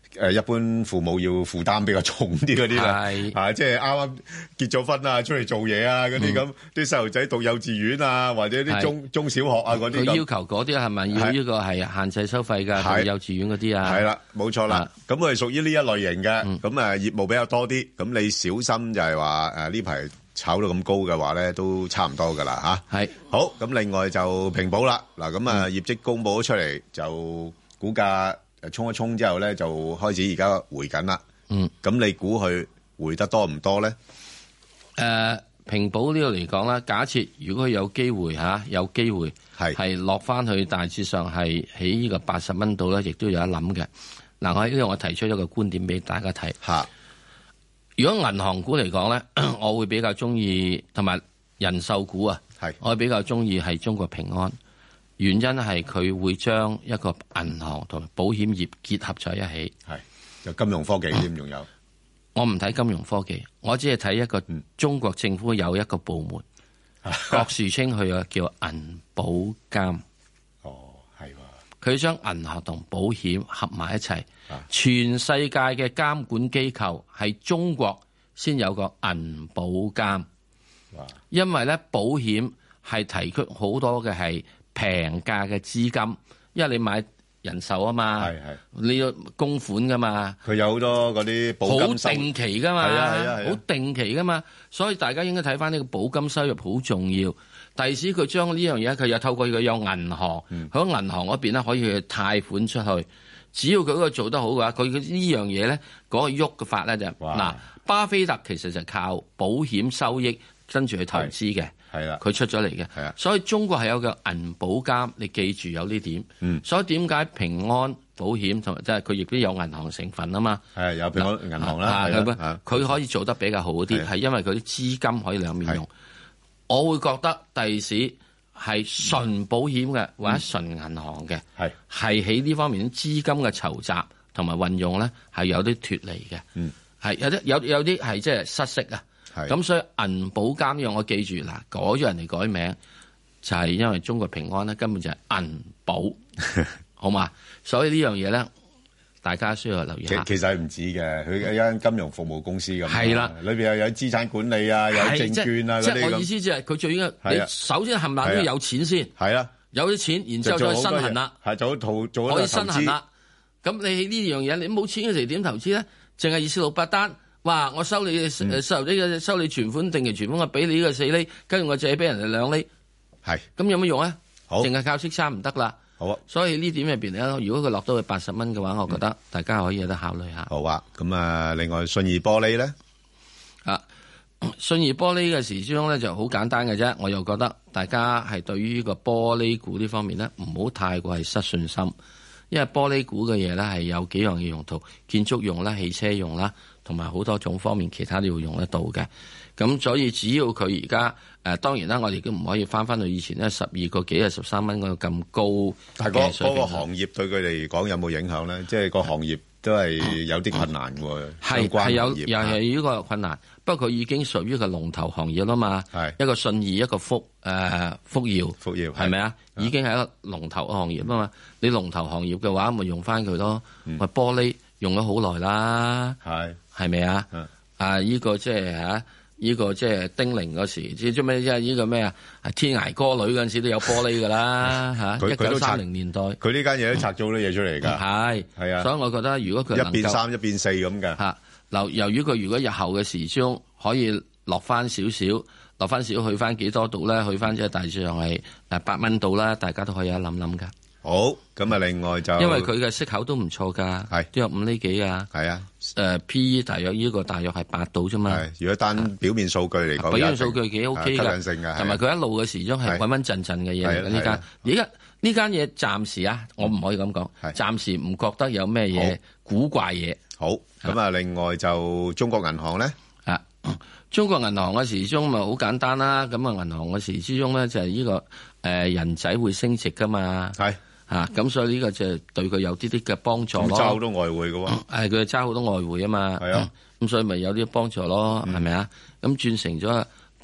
誒一般父母要負擔比較重啲嗰啲啦，係即係啱啱結咗婚啊，出嚟做嘢啊嗰啲咁，啲細路仔讀幼稚園啊，或者啲中中小學啊嗰啲， 佢要求嗰啲係咪要呢個係限制收費㗎？讀幼稚園嗰啲啊， 係啦，冇錯啦。咁佢係屬於呢一類型嘅，咁誒業務比較多啲，咁你小心就係話誒呢排炒到咁高嘅話咧，都差唔多㗎啦嚇。係好，咁另外就平保啦，嗱咁啊業績公佈咗出嚟就股價。誒，衝一衝之後咧，就開始而家回緊啦。嗯，咁你估佢回得多唔多咧？誒、 呃，平保呢度嚟講啦，假設如果佢有機會吓、啊，有機會係係落翻去大致上係喺呢個八十蚊度咧，亦都有得諗嘅。嗱、啊，我喺呢度我提出一個觀點俾大家睇吓。如果銀行股嚟講咧，我會比較中意同埋人壽股啊，係我會比較中意係中國平安。原因係佢會將一個銀行同埋保險業結合在一起， 係有金融科技添，仲有。 我唔睇金融科技，我只係睇一個中國政府有一個部門，嗯、郭樹清佢啊叫銀保監。 哦，係喎。 佢將銀行同保險合埋一齊，全世界嘅監管機構係中國先有個銀保監。因為咧保險係提出好多嘅係。平價嘅資金，因為你買人壽啊嘛，係係你要供款噶嘛， 佢有好多嗰啲保金收入，好定期噶嘛， 係啊係啊係啊， 好定期噶嘛，所以大家應該睇翻呢個保金收入好重要。第時佢將呢樣嘢，佢又透過佢有銀行，喺、嗯、銀行嗰邊咧可以去貸款出去。只要佢嗰個做得好嘅話，佢呢樣嘢咧嗰個喐嘅法咧就嗱，巴菲特其實就靠保險收益跟住去投資嘅。係啦，佢出咗嚟嘅，係啊，所以中國係有個銀保監，你記住有呢點。嗯，所以點解平安保險同埋即係佢亦都有銀行成分啊嘛。係有平安銀行啦，佢可以做得比較好啲，係因為佢啲資金可以兩面用。我會覺得第時係純保險嘅、嗯、或者純銀行嘅，係係喺呢方面資金嘅籌集同埋運用咧係有啲脫離嘅。嗯，係有啲有有啲係即係失色啊。咁所以銀保監呢樣我記住嗱，改咗人哋改名就係、是、因為中國平安咧根本就係銀保，好嘛？所以呢樣嘢咧，大家需要留意下。 其實係唔止嘅，佢一間金融服務公司咁。係啦，裏邊又有資產管理啊，有證券啊嗰啲咁。即係我意思即係佢最應該，你首先冚唪唥都要有錢先。係啊，有啲錢，然之後再身痕啦。係做做做可以身痕啦。咁你呢樣嘢，你冇錢嘅時點投資咧？淨係二四六八單。哇！我收你誒、嗯、收呢個收你存款定期存款，我俾你呢個四厘，跟住我借俾人哋兩厘，係咁有乜用咧？好，淨係靠息差唔得啦。好啊，所以呢點入邊咧，如果佢落到去八十蚊嘅話，我覺得大家可以有得考慮下。好啊，咁啊，另外信義玻璃咧， 啊，信義玻璃嘅時鐘咧就好簡單嘅啫。我又覺得大家係對於呢個玻璃股呢方面咧，唔好太過係失信心，因為玻璃股嘅嘢咧係有幾樣嘅用途，建築用啦、汽車用啦。同埋好多種方面，其他都要用得到嘅。咁所以只要佢而家誒，當然啦，我哋都唔可以翻翻去以前咧十二個幾啊十三蚊嗰個咁高。 但係嗰嗰個行業對佢哋嚟講有冇影響咧？即係個行業都係有啲困難喎。 係係有又係呢個困難，不過佢已經屬於個龍頭行業啦嘛。係一個信義，一個福誒福耀，福耀係咪啊？已經係一個龍頭行業啊嘛。你龍頭行業嘅話，咪用翻佢咯。咪玻璃用咗好耐啦。係。係咪啊？啊！依、這個即係嚇，依、這個即係丁玲嗰時，即係咩？即係依個咩啊？天涯歌女嗰陣時都有玻璃㗎啦嚇。一九三零年代， 佢呢間嘢都拆咗好多嘢出嚟㗎。係係啊， 所以我覺得如果佢一變三一變四咁嘅嚇， 由由於佢如果日後嘅時鐘可以落翻少少，落翻少去翻幾多度咧？去翻即係大致上係誒八蚊度啦，大家都可以一諗諗㗎。 好，咁啊，另外就因為佢嘅息口都唔錯㗎，係都有五厘幾啊，係啊，誒 P E 大約呢個大約係八度啫嘛。係，如果單表面數據嚟講，表面數據幾 OK 㗎，同埋佢一路嘅時鐘係穩穩陣陣嘅嘢嚟嘅呢間。而家呢間嘢暫時啊，我唔可以咁講，暫時唔覺得有咩嘢古怪嘢。好，咁啊，另外就中國銀行咧，啊，中國銀行嘅時鐘咪好簡單啦。咁啊，銀行嘅時之中咧就係呢個誒人仔會升值㗎嘛。係。啊，咁所以呢個就係對佢有啲啲嘅幫助咯。揸好多外匯嘅喎，係佢揸好多外匯啊嘛。係啊，咁所以咪有啲幫助咯，係咪啊？咁轉成咗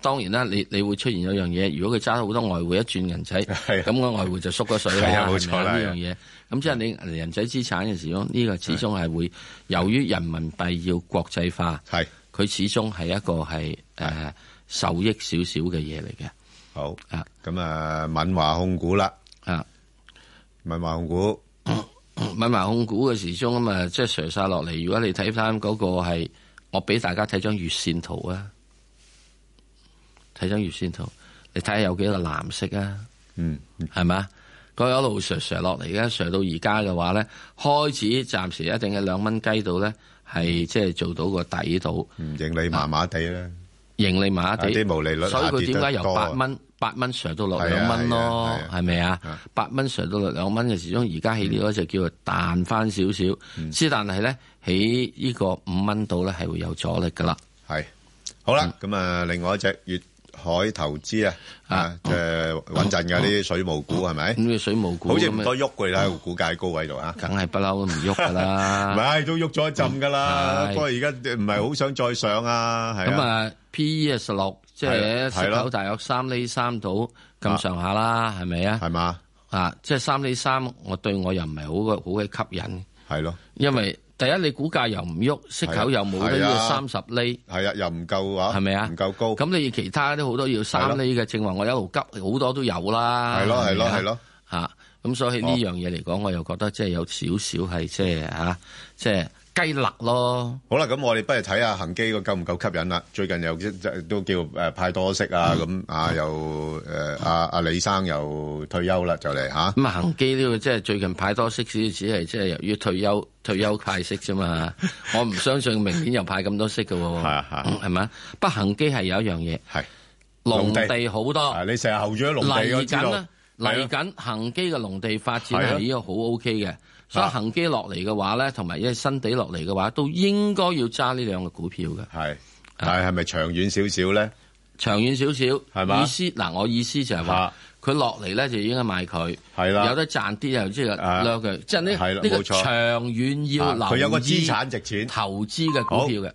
當然啦，你你會出現有樣嘢，如果佢揸好多外匯一轉銀仔，咁個外匯就縮咗水啦， 冇錯啦呢樣嘢。咁即係你人仔資產嘅時候，呢、這個始終係會由於人民幣要國際化，係佢始終係一個係誒、呃、受益少少嘅嘢嚟嘅。 好啊，咁啊，敏華控股啦，啊，敏華控股， 敏華控股嘅時鐘啊嘛，即係瀡晒落嚟。如果你睇翻嗰個係，我俾大家睇張月線圖啊。睇張月線圖，你睇下有幾個藍色啊？嗯，係咪？佢一路瀡瀡落嚟嘅，瀡到而家嘅話咧，開始暫時一定係兩蚊雞度咧，係即係做到個底度。 嗯，盈利麻麻地啦， 盈利麻麻地， 啲毛利率， 所以佢點解由八蚊八蚊瀡到落兩蚊咯？係咪啊？八蚊瀡到落兩蚊嘅時鐘，而家起呢個就叫做彈翻少少。之、嗯、但係咧，喺呢個五蚊度咧係會有阻力噶啦。係好啦，咁、嗯、啊，另外一隻月海投資啊，啊，即係穩陣嘅呢啲水務股係咪？咁嘅水務股好似唔多喐嘅啦，個股價高位度啊， 梗係不嬲都唔喐噶啦。 唔係都喐咗一陣噶啦，不過而家唔係好想再上啊。係咁啊 ，P E 啊十六，即係息口大約三厘三到咁上下啦，係咪啊？係嘛？啊，即係三厘三，我對我又唔係好嘅好嘅吸引。係咯，因為第一你股價又唔喐，息口又冇得要三十厘， 係啊，又唔夠啊， 係咪啊？ 唔夠高。咁你其他都好多要三厘嘅，正話我一路急好多都有啦。 係咯，係咯，係咯， 吓咁所以呢樣嘢嚟講，我又覺得即係有少少係即係吓，即係雞肋咯。 好啦，咁我哋不如睇下恒基個夠唔夠吸引啦。最近又都叫誒派多息啊，咁啊又誒阿阿李生又退休啦，就嚟吓。 咁啊恒基呢個即係最近派多息，只只係即係由於退休。退休派息啫嘛，我唔相信明年又派咁多息嘅喎，係係係咪？不恒基係有一樣嘢，係農地好多， 你成日候住喺農地，我知道。 嚟緊嚟緊恒基嘅農地發展係呢個好 O K 嘅，所以恒基落嚟嘅話咧，同埋因為新地落嚟嘅話，都應該要揸呢兩個股票嘅。係， 但係係咪長遠少少咧？ 長遠少少係嘛？ 意思嗱，我意思就係話。佢落嚟咧就應該賣佢，係啦，有得賺啲又即係掠佢，即係呢呢個長遠要留意。 佢有個資產值錢投資嘅股票嘅。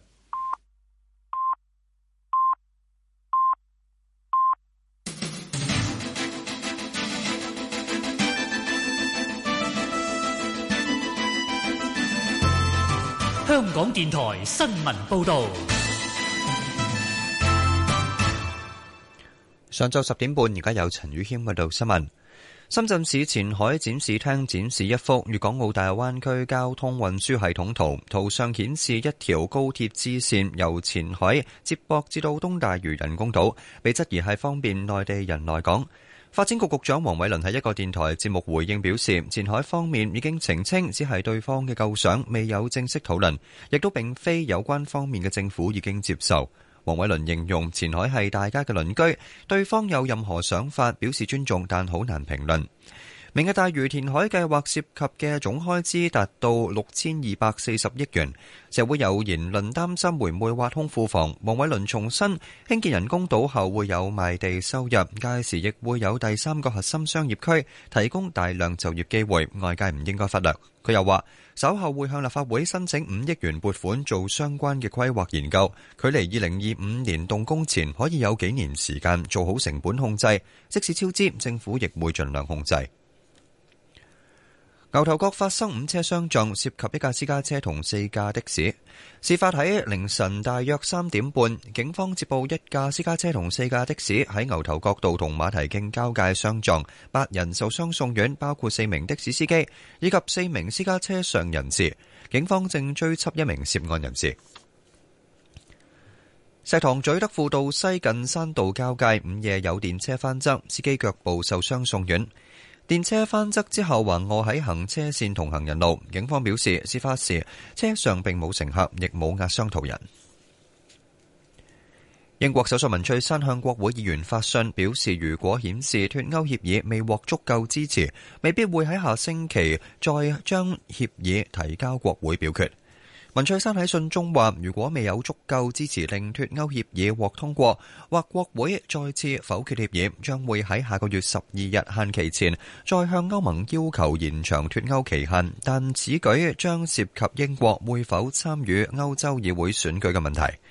香港電台新聞報導。 上晝十點半，而家有陳宇謙報道新聞。深圳市前海展示廳展示一幅粵港澳大灣區交通運輸系統圖，圖上顯示一條高鐵支線由前海接駁至到東大嶼人工島，被質疑係方便內地人來港。發展局局長黃偉綸喺一個電台節目回應表示，前海方面已經澄清，只係對方嘅構想，未有正式討論，亦都並非有關方面嘅政府已經接受。黃偉綸形容前海係大家嘅鄰居，對方有任何想法表示尊重，但好難評論。明日大嶼填海計劃涉及嘅總開支達到六千二百四十億元，社會有言論擔心會唔會挖空庫房。黃偉綸重申，興建人工島後會有賣地收入，屆時亦會有第三個核心商業區，提供大量就業機會，外界唔應該忽略。佢又話，稍後會向立法會申請五億元撥款做相關嘅規劃研究，距離二零二五年動工前可以有幾年時間做好成本控制，即使超支，政府亦會盡量控制。牛頭角發生五車相撞，涉及一架私家車同四架的士。事發喺凌晨大約三點半，警方接報一架私家車同四架的士喺牛頭角道同馬蹄徑交界相撞，八人受傷送院，包括四名的士司機以及四名私家車上人士。警方正追緝一名涉案人士。石塘咀德輔道西近山道交界，午夜有電車翻側，司機腳部受傷送院。電車翻側之後橫臥喺行車線同行人路，警方表示事發時車上並冇乘客，亦冇壓傷途人。英國首相文翠珊向國會議員發信表示，如果顯示脫歐協議未獲足夠支持，未必會喺下星期再將協議提交國會表決。文翠珊喺信中話，如果未有足夠支持令脫歐協議獲通過，或國會再次否決協議，將會喺下個月十二日限期前再向歐盟要求延長脫歐期限，但此舉將涉及英國會否參與歐洲議會選舉嘅問題。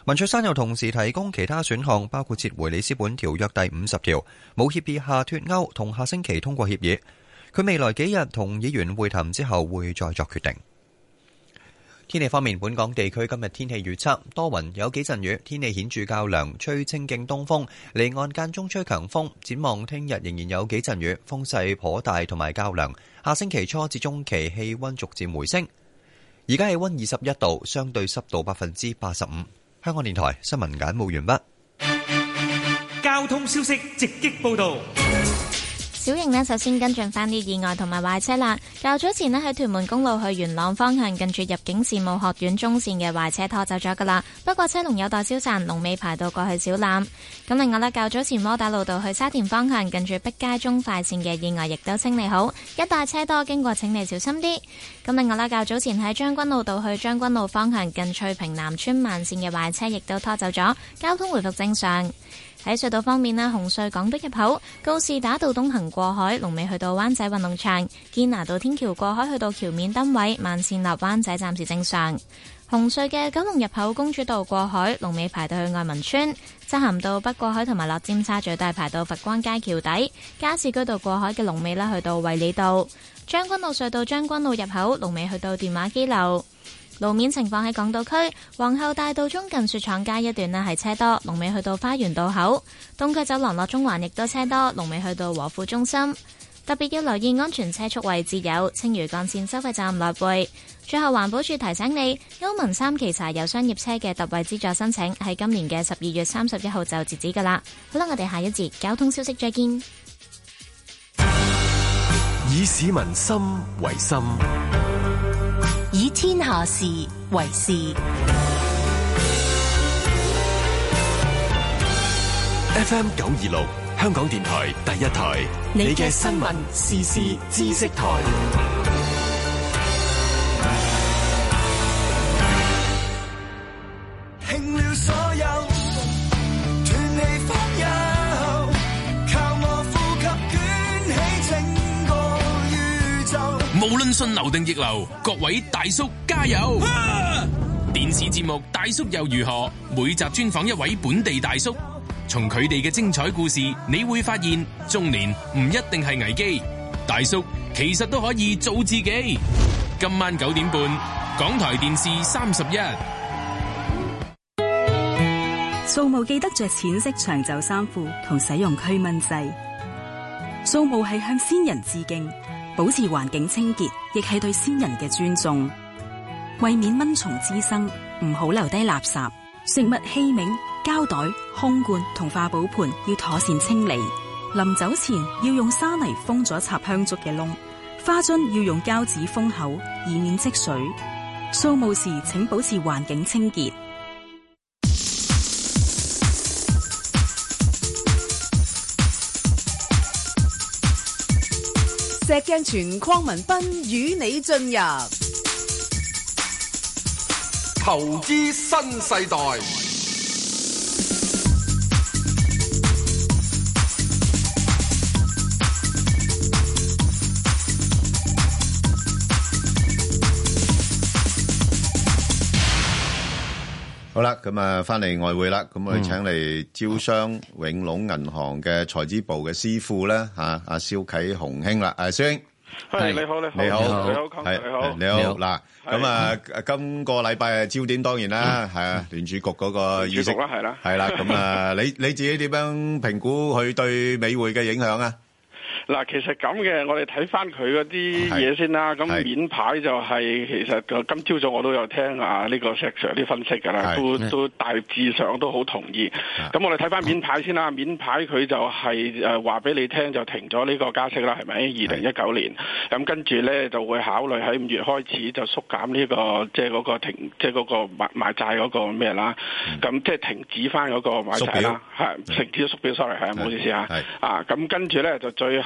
文翠珊又同時提供其他選項，包括撤回里斯本條約第五十條，冇協議下脫歐，同下星期通過協議。佢未來幾日同議員會談之後，會再作決定。天氣方面，本港地區今日天氣預測多雲，有幾陣雨，天氣顯著較涼，吹清勁東風，離岸間中吹強風。展望聽日仍然有幾陣雨，風勢頗大同埋較涼。下星期初至中期氣溫逐漸回升。而家氣溫二十一度，相對濕度百分之八十五。香港電台新聞簡報完畢。 交通消息直擊報道。 小瑩呢，首先跟進翻啲意外同埋壞車啦。較早前呢，喺屯門公路去元朗方向，近住入境事務學院中線嘅壞車拖走咗噶啦。不過車龍有待消散，龍尾排到過去小欖。咁另外呢，較早前窩打老道去沙田方向，近住碧街中快線嘅意外亦都清理好，一帶車多，經過請你小心啲。咁另外呢，較早前喺將軍澳道去將軍澳方向，近翠屏南村慢線嘅壞車亦都拖走咗，交通回復正常。喺隧道方面呢，紅隧港島入口告士打道東行過海，龍尾去到灣仔運動場；堅拿道天橋過海去到橋面燈位，慢線落灣仔暫時正常。紅隧嘅九龍入口公主道過海，龍尾排到去愛民村；漆咸道北過海同埋落尖沙咀都係排到佛光街橋底；加士居道過海嘅龍尾呢，去到衛理道；將軍澳隧道將軍澳入口龍尾去到電話機樓。路面情況喺港島區皇后大道中近雪廠街一段呢係車多，龍尾去到花園道口；東區走廊落中環亦都車多，龍尾去到和富中心。特別要留意安全車速位置有青嶼幹線收費站來回。最後環保署提醒你，歐盟三期柴油商業車嘅特惠資助申請喺今年嘅十二月三十一號就截止噶啦。好啦，我哋下一節交通消息再見。 以市民心為心， 以天下事為事。 F M 九二六，香港電台第一台，你嘅新聞時事知識台。 興了所有，斷氣方休，靠我呼吸捲起整個宇宙。 無論順流定逆流，各位大叔加油！啊、電視節目《大叔又如何》，每集專訪一位本地大叔，從佢哋嘅精彩故事，你會發現中年唔一定係危機，大叔其實都可以做自己。今晚九點半，港台電視三十一。 掃墓記得着淺色長袖衫褲同使用驅蚊劑。掃墓係向先人致敬，保持環境清潔，亦係對先人嘅尊重。為免蚊蟲滋生，唔好留低垃圾、食物器皿、膠袋、空罐同化寶盤要妥善清理。臨走前要用沙泥封咗插香燭嘅窿，花樽要用膠紙封口，以免積水。掃墓時請保持環境清潔。 石鏡泉鄺民彬與你進入投資新世代。 好啦，咁啊，翻嚟外匯啦，咁我哋請嚟招商永隆銀行嘅財資部嘅師傅咧，吓阿蕭啟鴻兄啦，誒，蕭兄， 係你好，你好， 你好， 你好， 係你好， 你好，嗱，咁啊，今個禮拜嘅焦點當然啦，係啊，聯儲局嗰個議息啦， 係啦， 係啦，咁啊，你你自己點樣評估佢對美匯嘅影響啊？ 嗱，其實咁嘅，我哋睇翻佢嗰啲嘢先啦。咁面牌就係、是、其實今朝早我都有聽啊呢個石 Sir 啲分析㗎啦，都都大致上都好同意。咁我哋睇翻面牌先啦，面牌佢就係誒話俾你聽就停咗呢個加息啦，係咪？二零一九年咁跟住咧就會考慮喺五月開始就縮減呢、這個即係嗰個停即係嗰個買買債嗰個咩啦。咁即係停止翻嗰個買債啦，係停止咗縮表 ，sorry 係唔好意思啊。啊咁跟住咧就最後。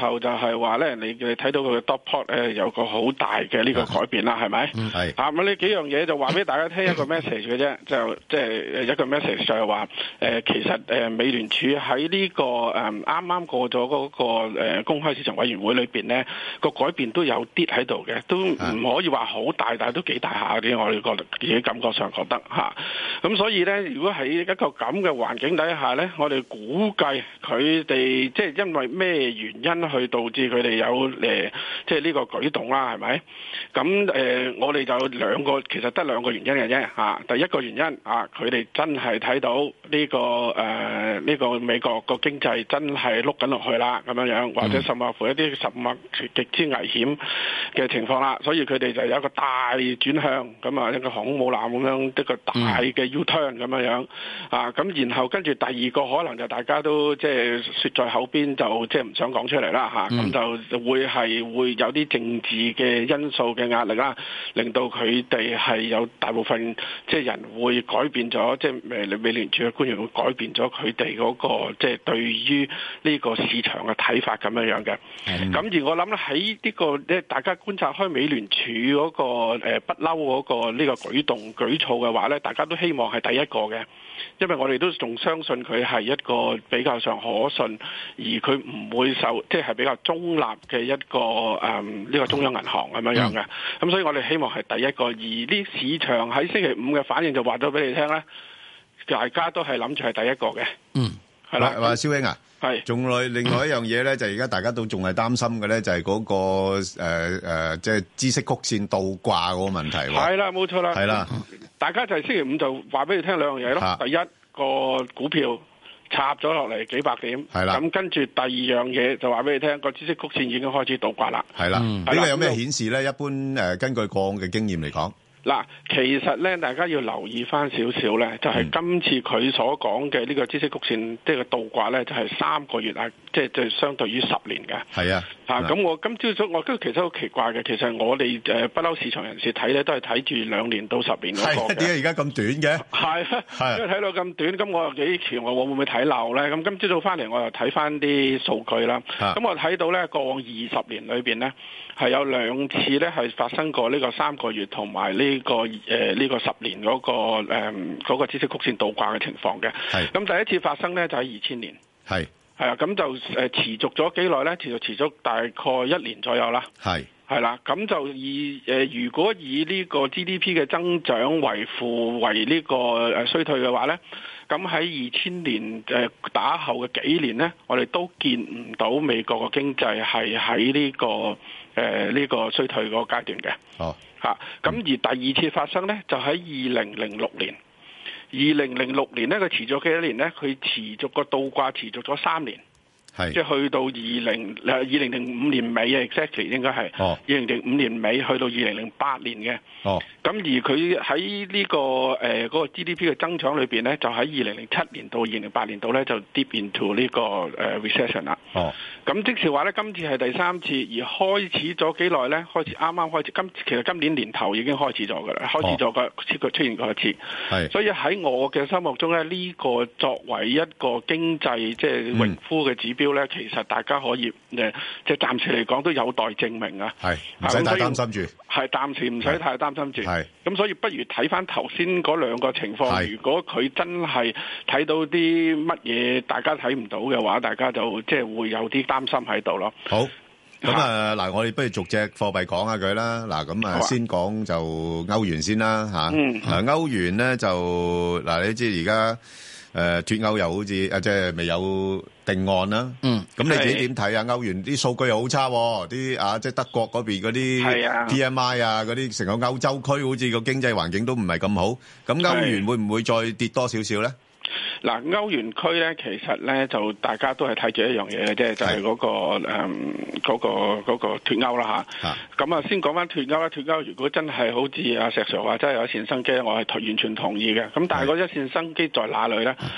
後就係話咧，你你睇到佢嘅 dot plot 誒有個好大嘅呢個改變啦，係咪？ 係啊，咁呢幾樣嘢就話俾大家聽一個 message 嘅啫，就即係一個 message 就係話誒，其實誒美聯儲喺呢個誒啱啱過咗嗰個誒公開市場委員會裏邊咧，個改變都有啲喺度嘅，都唔可以話好大，但係都幾大下啲，我哋覺得自己感覺上覺得嚇。咁所以咧，如果喺一個咁嘅環境底下咧，我哋估計佢哋即係因為咩原因去導致佢哋有誒即係呢個舉動啦，係咪？咁誒、呃，我哋就兩個其實得兩個原因嘅啫嚇。第一個原因啊，佢哋真係睇到呢、呢個誒呢、呃呢個美國個經濟真係碌緊落去啦，咁樣樣，或者甚至乎一啲實物極之危險嘅情況啦，所以佢哋就有一個大轉向，咁啊一個航空母艦咁樣一個大嘅 U-turn 咁樣樣啊，咁然後跟住第二個可能就大家都即係説在口邊，就即係唔想講出嚟啦嚇，咁、嗯、就會係會有啲政治嘅因素嘅壓力啦，令到佢哋係有大部分即係人會改變咗，即係誒美聯儲嘅官員會改變咗佢哋嗰個即係對於呢個市場嘅睇法咁樣樣嘅。咁、嗯、而我諗咧喺呢個咧，大家觀察開美聯儲嗰個誒不嬲嗰個呢個舉動舉措嘅話咧，大家都希望係第一個嘅。因為我哋都仲相信佢係一個比較上可信，而佢唔會受即係、就是、比較中立嘅一個誒呢、嗯這個中央銀行咁樣樣嘅。咁、嗯、所以我哋希望係第一個。而呢市場喺星期五嘅反應就話咗俾你聽咧，大家都係諗住係第一個嘅。嗯，係啦。話蕭兄啊，係仲來另外一樣嘢咧，就而家大家都仲係擔心嘅咧，就係嗰、那個誒誒、呃，即係孳息曲線倒掛嗰個問題。係啦，冇錯啦。係啦。大家就係星期五就話俾你聽兩樣嘢咯。第一個股票插咗落嚟幾百點，係啦。咁跟住第二樣嘢就話俾你聽，個孳息曲線已經開始倒掛啦。係啦。呢個有咩顯示咧？一般誒，根據過往嘅經驗嚟講。嗱，其實咧，大家要留意翻少少咧，就係、是、今次佢所講嘅呢個孳息曲線，即係個倒掛咧，就係、是、三個月啊，即係即係相對於十年嘅。係啊，嚇咁我今朝早我都其實好奇怪嘅，其實我哋誒不嬲市場人士睇咧，都係睇住兩年到十年嗰個嘅。點解而家咁短嘅？係啊，因為睇到咁短，咁我又幾期我會唔會睇漏咧？咁今朝早翻嚟我又睇翻啲數據啦。咁我睇到咧，過往二十年裏邊咧，係有兩次咧係發生過呢個三個月同埋呢個誒呢、呃這個十年嗰、那個誒嗰、呃那個孳息曲線倒掛嘅情況嘅。係咁第一次發生咧就喺二千年。係係啊，咁就誒、呃、持續咗幾耐咧？持續持續大概一年左右啦。係係啦，咁就以誒、呃、如果以呢個 G D P 嘅增長為負為呢個誒衰退嘅話咧，咁喺二千年誒打後嘅幾年咧，我哋都見唔到美國嘅經濟係喺呢個誒呢、呃這個衰退嗰個階段嘅。哦。嚇！咁而第二次發生咧，就喺二零零六年。二零零六年咧，佢持續幾多年咧？佢持續個倒掛持續咗三年。係。即係去到二零誒二零零五年尾啊 ，exactly 應該係。哦。二零零五年尾去到二零零八年嘅。哦。咁而佢喺呢個誒嗰、呃那個 G D P 嘅增長裏邊咧，就喺二零零七年到二零零八年度咧，就 deep into 呢、這個誒、呃、recession 啦。哦。咁即是話咧，今次係第三次，而開始咗幾耐咧？開始啱啱開始，今其實今年年頭已經開始咗㗎啦，開始咗個出出現過一次。係。所以喺我嘅心目中咧，呢、這個作為一個經濟即係榮枯嘅指標咧、嗯，其實大家可以誒，即係暫時嚟講都有待證明啊。係。唔使太擔心住。係暫時唔使太擔心住。係。咁所以不如睇翻頭先嗰兩個情況，如果佢真係睇到啲乜嘢大家睇唔到嘅話，大家就即係會有啲擔心喺度咯。好，咁啊嗱，我哋不如逐隻貨幣講下佢啦。嗱，咁啊先講就歐元先啦嚇。嗯。嗱，歐元咧就嗱，你知而家。誒脫歐又好似啊，即係未有定案啦。嗯，咁你自己點睇啊？歐元啲數據又好差，啲啊即係德國嗰邊嗰啲 P M I 啊，嗰啲成個歐洲區好似個經濟環境都唔係咁好。咁歐元會唔會再跌多少少咧？嗱，歐元區咧，其實咧就大家都係睇住一樣嘢嘅啫，就係、是、嗰、那個誒嗰、嗯那個嗰、那個脫歐啦嚇。咁啊，先講翻脫歐啦。脫歐如果真係好似阿石 Sir 話，真係有一線生機，我係完全同意嘅。咁但係嗰一線生機在哪裏咧？嗰、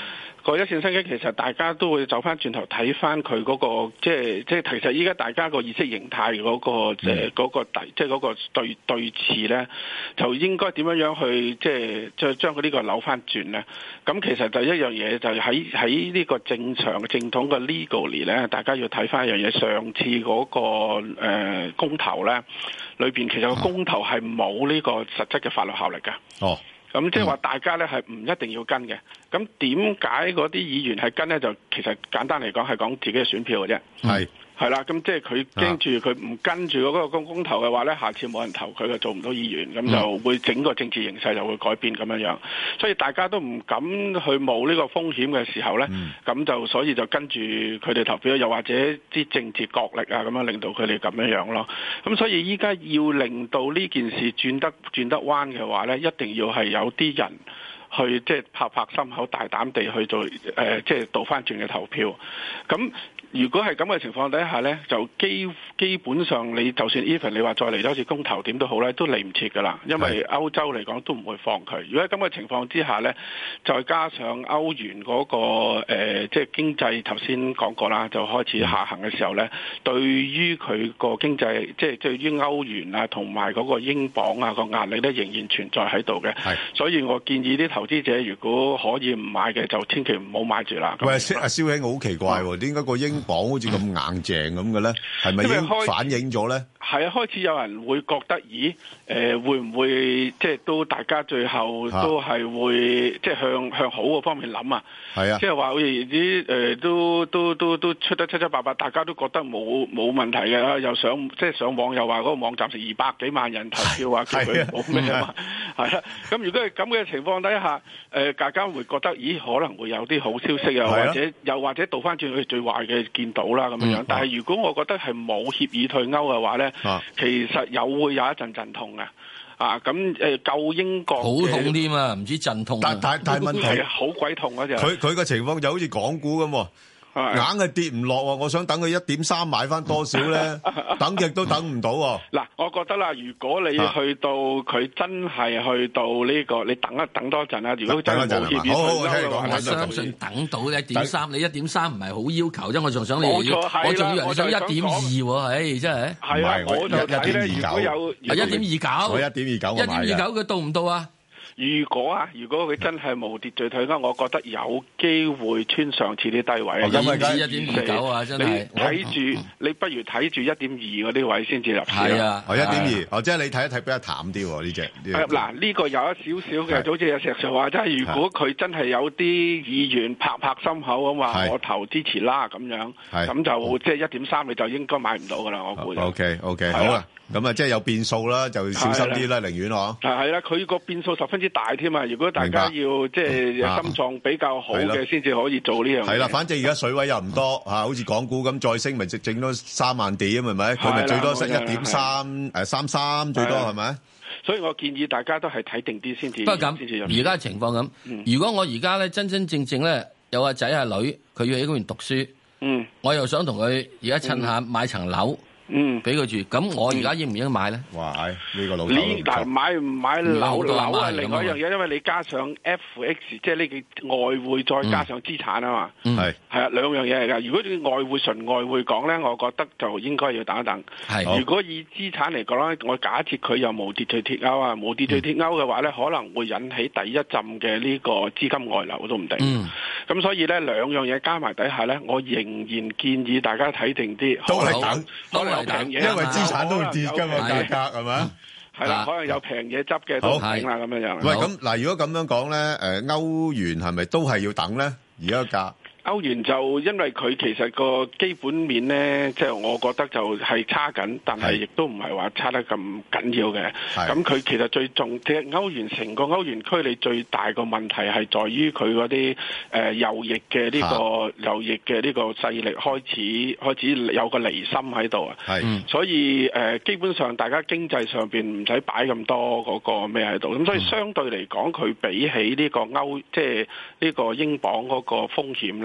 個一線生機其實大家都會走翻轉頭睇翻佢嗰個，即係即係其實依家大家個意識形態嗰、嗰個誒嗰個即係嗰個對對峙咧，就應該點樣樣去即係即係將佢呢個扭翻轉咧？咁其實就一樣嘢，就係喺喺呢個正常正統嘅 legally 咧，大家要睇翻一樣嘢。上次嗰、嗰個誒、呃、公投咧，裏邊其實個公投係冇呢個實質嘅法律效力㗎。 哦。 咁即係話大家咧係唔一定要跟嘅，咁點解嗰啲議員係跟咧？就其實簡單嚟講係講自己嘅選票嘅啫。係係啦，咁即係佢驚住佢唔跟住嗰個公公投嘅話咧，下次冇人投佢，就做唔到議員，咁就會整個政治形勢就會改變咁樣樣。所以大家都唔敢去冒呢個風險嘅時候咧，咁、嗯、就所以就跟住佢哋投票，又或者啲政治角力啊咁樣令到佢哋咁樣樣咯。咁所以依家要令到呢件事轉得轉得彎嘅話咧，一定要係有啲人去即係拍拍心口，大膽地去做誒，即係倒翻轉嘅投票。咁如果係咁嘅情況底下呢，就基基本上你就算 even 你話再嚟多次公投點都好呢，都嚟唔切㗎啦。因為歐洲嚟講都唔會放佢。如果喺咁嘅情況之下呢，再加上歐元嗰、嗰個誒，即、呃、係、就是、經濟頭先講過啦，就開始下行嘅時候呢，對於佢個經濟，即係對於歐元啊同埋嗰個英鎊啊個壓力呢，仍然存在喺度嘅。所以我建議啲投資者如果可以唔買嘅，就千祈唔好買住啦。 喂，阿蕭兄好奇怪喎，點解個英鎊好似咁硬淨咁嘅咧？係咪已經反映咗咧？ 係啊，開始有人會覺得，咦？誒、呃，會唔會即係都大家最後都係會、啊、即係向向好嘅方面諗啊？係啊，即係話好似啲誒都都都都出得七七八八，大家都覺得冇冇問題嘅，又上即係上網又話嗰個網站成二百幾萬人投票啊，叫佢冇咩啊嘛，係啦。咁如果係咁嘅情況底下，誒、呃、大家會覺得，咦？可能會有啲好消息啊，或者又或者倒翻轉去最壞嘅見到啦咁樣樣。嗯、但係如果我覺得係冇協議退歐嘅話咧，啊、其實有會有一陣陣痛嘅。啊，咁誒救英國好痛添啊，唔知陣痛。 但但但問題好鬼痛嗰隻。 佢佢個情況就好似港股咁喎。硬係跌唔落喎，我想等佢一點三買翻多少咧，等極都等唔到喎。 嗱，我覺得啦，如果你去到佢真係去到呢、這個，你等一等多陣啦。如果真係冇協議退歐嘅話， 我相信等到一點三，你一點三唔係好要求啫。我仲想你， 冇錯係啦， 我仲以為你想一點二喎，唉，真係。 係啊，我就睇咧，如果有一點二九， 我一點二九， 一點二九佢到唔到啊？ 如果啊，如果佢真係無秩序退歐，我覺得有機會穿上次啲低位啊， 因為一點二九啊，真係你睇住，你不如睇住一點二嗰啲位先至入市。 係啊， 哦一點二，哦即係你睇一睇比較淡啲喎呢隻。 嗱呢個有一少少嘅，就好似有石 Sir 話，即係如果佢真係有啲議員拍拍心口咁話，我投支持啦咁樣，咁就即係一點三，你就應該買唔到噶啦，我估。 O K O K 好啦。咁啊，即係有變數啦，就小心啲啦，寧願嗬。 係啦，佢個變數十分之大添啊！如果大家要即係心臟比較好嘅，先至可以做呢樣嘢。 係啦，反正而家水位又唔多嚇，好似港股咁再升，咪整整多三萬點係咪？佢咪最多升一點三誒三三最多係咪？ 所以我建議大家都係睇定啲先至。 不過咁，而家情況咁，如果我而家咧真真正正咧有個仔阿女，佢要喺嗰邊讀書，嗯，我又想同佢而家趁下買層樓。嗯，俾佢住，咁我而家應唔應該買咧？ 哇，呢、這個老頭， 你但買唔買樓樓係另外一樣嘢，因為你加上 F X，即係呢個外匯再加上資產啊嘛，係係啊兩樣嘢嚟噶。如果你外匯純外匯講咧，我覺得就應該要等一等。係，如果以資產嚟講咧，我假設佢又無秩序脫歐啊，無秩序脫歐嘅話咧，可能會引起第一陣嘅呢個資金外流都唔定。嗯，咁所以咧兩樣嘢加埋底下咧，我仍然建議大家睇定啲， 都係等， 都係。平嘢， 因為資產都會跌㗎嘛，價格係咪？ 係啦，可能有平嘢執嘅都平啦咁樣樣。 喂，咁嗱，如果咁樣講咧，誒歐元係咪都係要等咧？而家個價？ 歐元就因為佢其實個基本面咧，即係我覺得就係差緊，但係亦都唔係話差得咁緊要嘅。咁佢其實最重，即係歐元成個歐元區，你最大個問題係在於佢嗰啲誒右翼嘅呢個右翼嘅呢個勢力開始開始有個離心喺度啊。係，所以誒基本上大家經濟上邊唔使擺咁多嗰個咩喺度，咁所以相對嚟講，佢比起呢個歐即係呢個英鎊嗰個風險咧。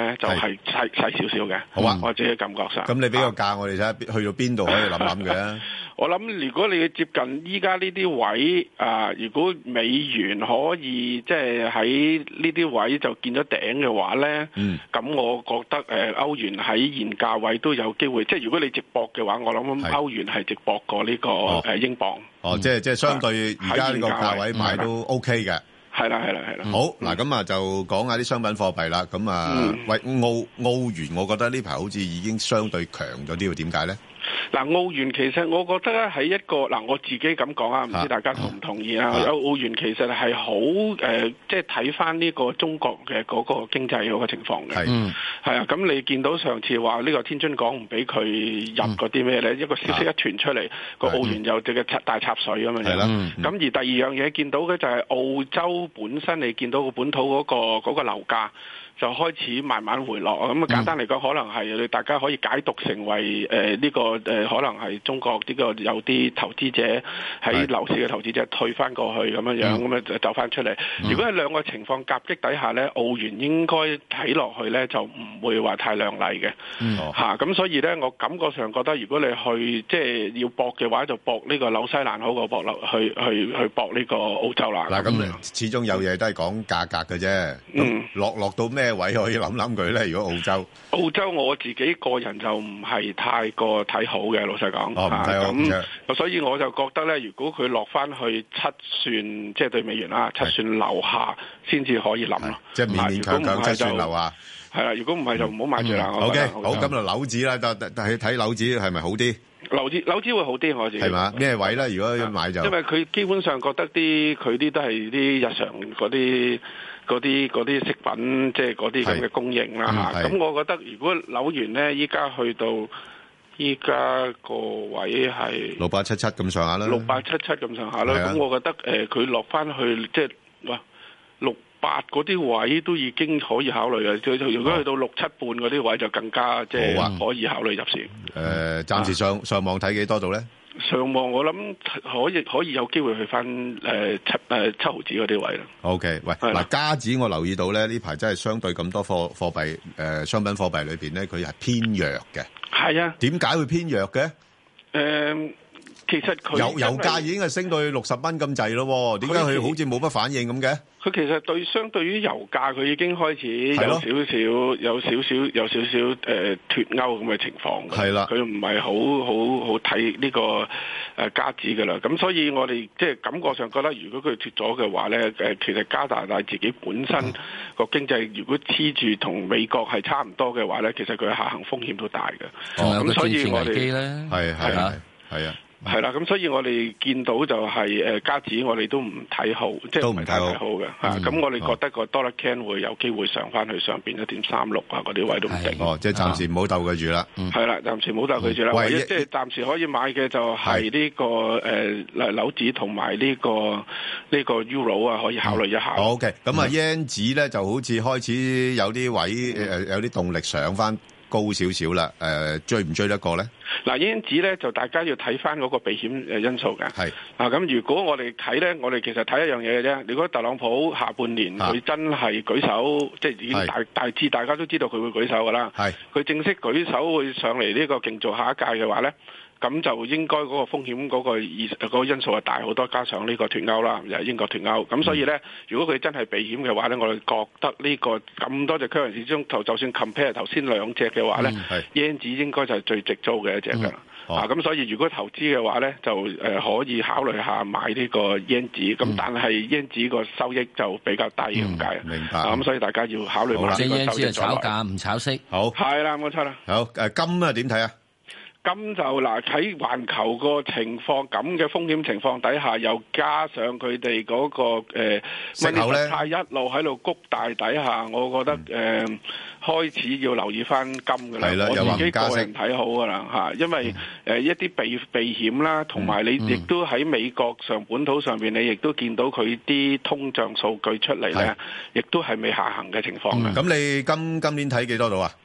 咧，就係細細少少嘅。 好啊， 我自己感覺上。 咁你俾個價我哋睇下，去到邊度可以諗諗嘅？ 我諗如果你接近依家呢啲位啊、呃，如果美元可以即係喺呢啲位就見咗頂嘅話咧，咁、嗯、我覺得誒、呃、歐元喺現價位都有機會。即係如果你直博嘅話，我諗歐元係直博過呢、這個誒、哦呃、英鎊。 哦，即係即係相對而家呢個價位買都 OK 嘅。 係啦，係啦，係啦。 好，嗱咁啊，就講下啲商品貨幣啦。咁啊、嗯，喂，澳澳元，我覺得呢排好似已經相對強咗啲，點解咧？ 嗱，澳元其實我覺得咧喺一個嗱，我自己咁講啊，唔知大家同唔同意啊？有澳元其實係好誒，即係睇翻呢個中國嘅嗰個經濟嗰個情況嘅。係，係啊。咁你見到上次話呢個天津港唔俾佢入嗰啲咩咧？一個消息一傳出嚟，個澳元又隻嘅大插水咁樣樣。係啦。咁而第二樣嘢見到嘅就係澳洲本身，你見到個本土嗰個嗰個樓價就開始慢慢回落。咁啊簡單嚟講，可能係大家可以解讀成為誒呢個誒可能係中國呢個有啲投資者喺樓市嘅投資者退翻過去咁樣樣，咁啊就走翻出嚟。如果係兩個情況夾擊底下咧，澳元應該睇落去咧就唔會話太亮麗嘅嚇。咁所以咧，我感覺上覺得如果你去即係要搏嘅話，就搏呢個紐西蘭好過搏落去去去搏呢個澳洲啦。 嗱，咁始終有嘢都係講價格嘅啫。嗯，落落到咩位可以諗諗佢咧？如果澳洲，澳洲我自己個人就唔係太過睇好嘅，老實講。哦，唔睇好。咁所以我就覺得咧，如果佢落翻去七算，即係對美元啦，七算樓下先至可以諗咯。即係勉勉強強七算樓下。係啦，如果唔係就唔好買住啦。O K，好，咁就樓指啦，但但係睇樓指係咪好啲？樓指樓指會好啲，我自己係嘛？咩位咧？如果要買就因為佢基本上覺得啲佢啲都係啲日常嗰啲。嗰啲嗰啲食品，即係嗰啲咁嘅供應啦嚇。咁、嗯、我覺得如果紐元咧，依家去到依家個位係六八七七咁上下啦，六八七七咁上下啦。咁我覺得誒，佢落翻去即係哇六八嗰啲位都已經可以考慮嘅。如果去到六七半嗰啲位就更加即係、啊、可以考慮入市。誒、呃，暫時上、啊、上網睇幾多度咧？上望我諗可以可以有機會去翻誒、呃、七誒、呃、七毫子嗰啲位啦。O K， 喂，嗱加紙我留意到咧，呢排真係相對咁多貨貨幣誒、呃、商品貨幣裏邊咧，佢係偏弱嘅。係啊，點解會偏弱嘅？誒、呃，其實佢油油價已經係升到去六十蚊咁滯咯，點解佢好似冇乜反應咁嘅？佢其實對相對於油價，佢已經開始有少少有少少有少少誒脫鈎咁嘅情況。係啦，佢唔係好好好睇呢個誒加紙㗎啦。咁所以我哋即係感覺上覺得，如果佢脫咗嘅話咧，誒其實加拿大自己本身個經濟如果黐住同美國係差唔多嘅話咧，其實佢下行風險都大嘅。仲有個政治危機咧，係係係係啊。係啦，咁所以我哋見到就係誒加紙，我哋都唔睇好，即係唔係太睇好嘅嚇。咁、嗯、我哋覺得個 dollar can 會有機會上翻去上邊一點三六啊嗰啲位都唔定。哦，即係暫時唔好鬥佢住啦。係啦，暫時唔好鬥佢住啦。唯一即係暫時可以買嘅就係呢、這個誒紐紙同埋呢個呢、這個 Euro 啊，可以考慮一下。嗯、OK，咁啊 yen 紙咧就好似開始有啲位誒有啲動力上翻高少少啦。誒追唔追得過咧？嗱，因此咧就大家要睇翻嗰個避險誒因素嘅。係啊，咁如果我哋睇咧，我哋其實睇一樣嘢嘅啫。如果特朗普下半年佢真係舉手，即係已經大大致大家都知道佢會舉手噶啦。係佢正式舉手會上嚟呢個競做下一屆嘅話咧，咁就應該嗰個風險嗰個意嗰個因素係大好多，加上呢個脫歐啦，又係英國脫歐。咁所以咧，如果佢真係避險嘅話咧，我哋覺得呢個咁多隻 currency 中，就就算 compare 頭先兩隻嘅話咧，yen 紙應該就係最直租嘅一隻㗎。嗯、啊，咁所以如果投資嘅話咧，就誒、呃、可以考慮下買呢個 yen 紙。咁、嗯、但係 yen 紙個收益就比較低咁解。明白。咁、啊、所以大家要考慮下呢個收益。yen 紙係炒價唔炒息。好。係啦，冇錯啦。好誒，金啊點睇啊？金就嗱喺環球個情況咁嘅風險情況底下，又加上佢哋嗰個誒息口咧，一路喺度谷大底下，我覺得誒、呃、開始要留意翻金㗎啦。我自己個人睇好㗎啦嚇，因為誒、呃、一啲避避險啦，同埋你亦都喺美國上本土上邊，你亦都見到佢啲通脹數據出嚟咧，亦都係未下行嘅情況嘅。咁、嗯、你今今年睇幾多度啊？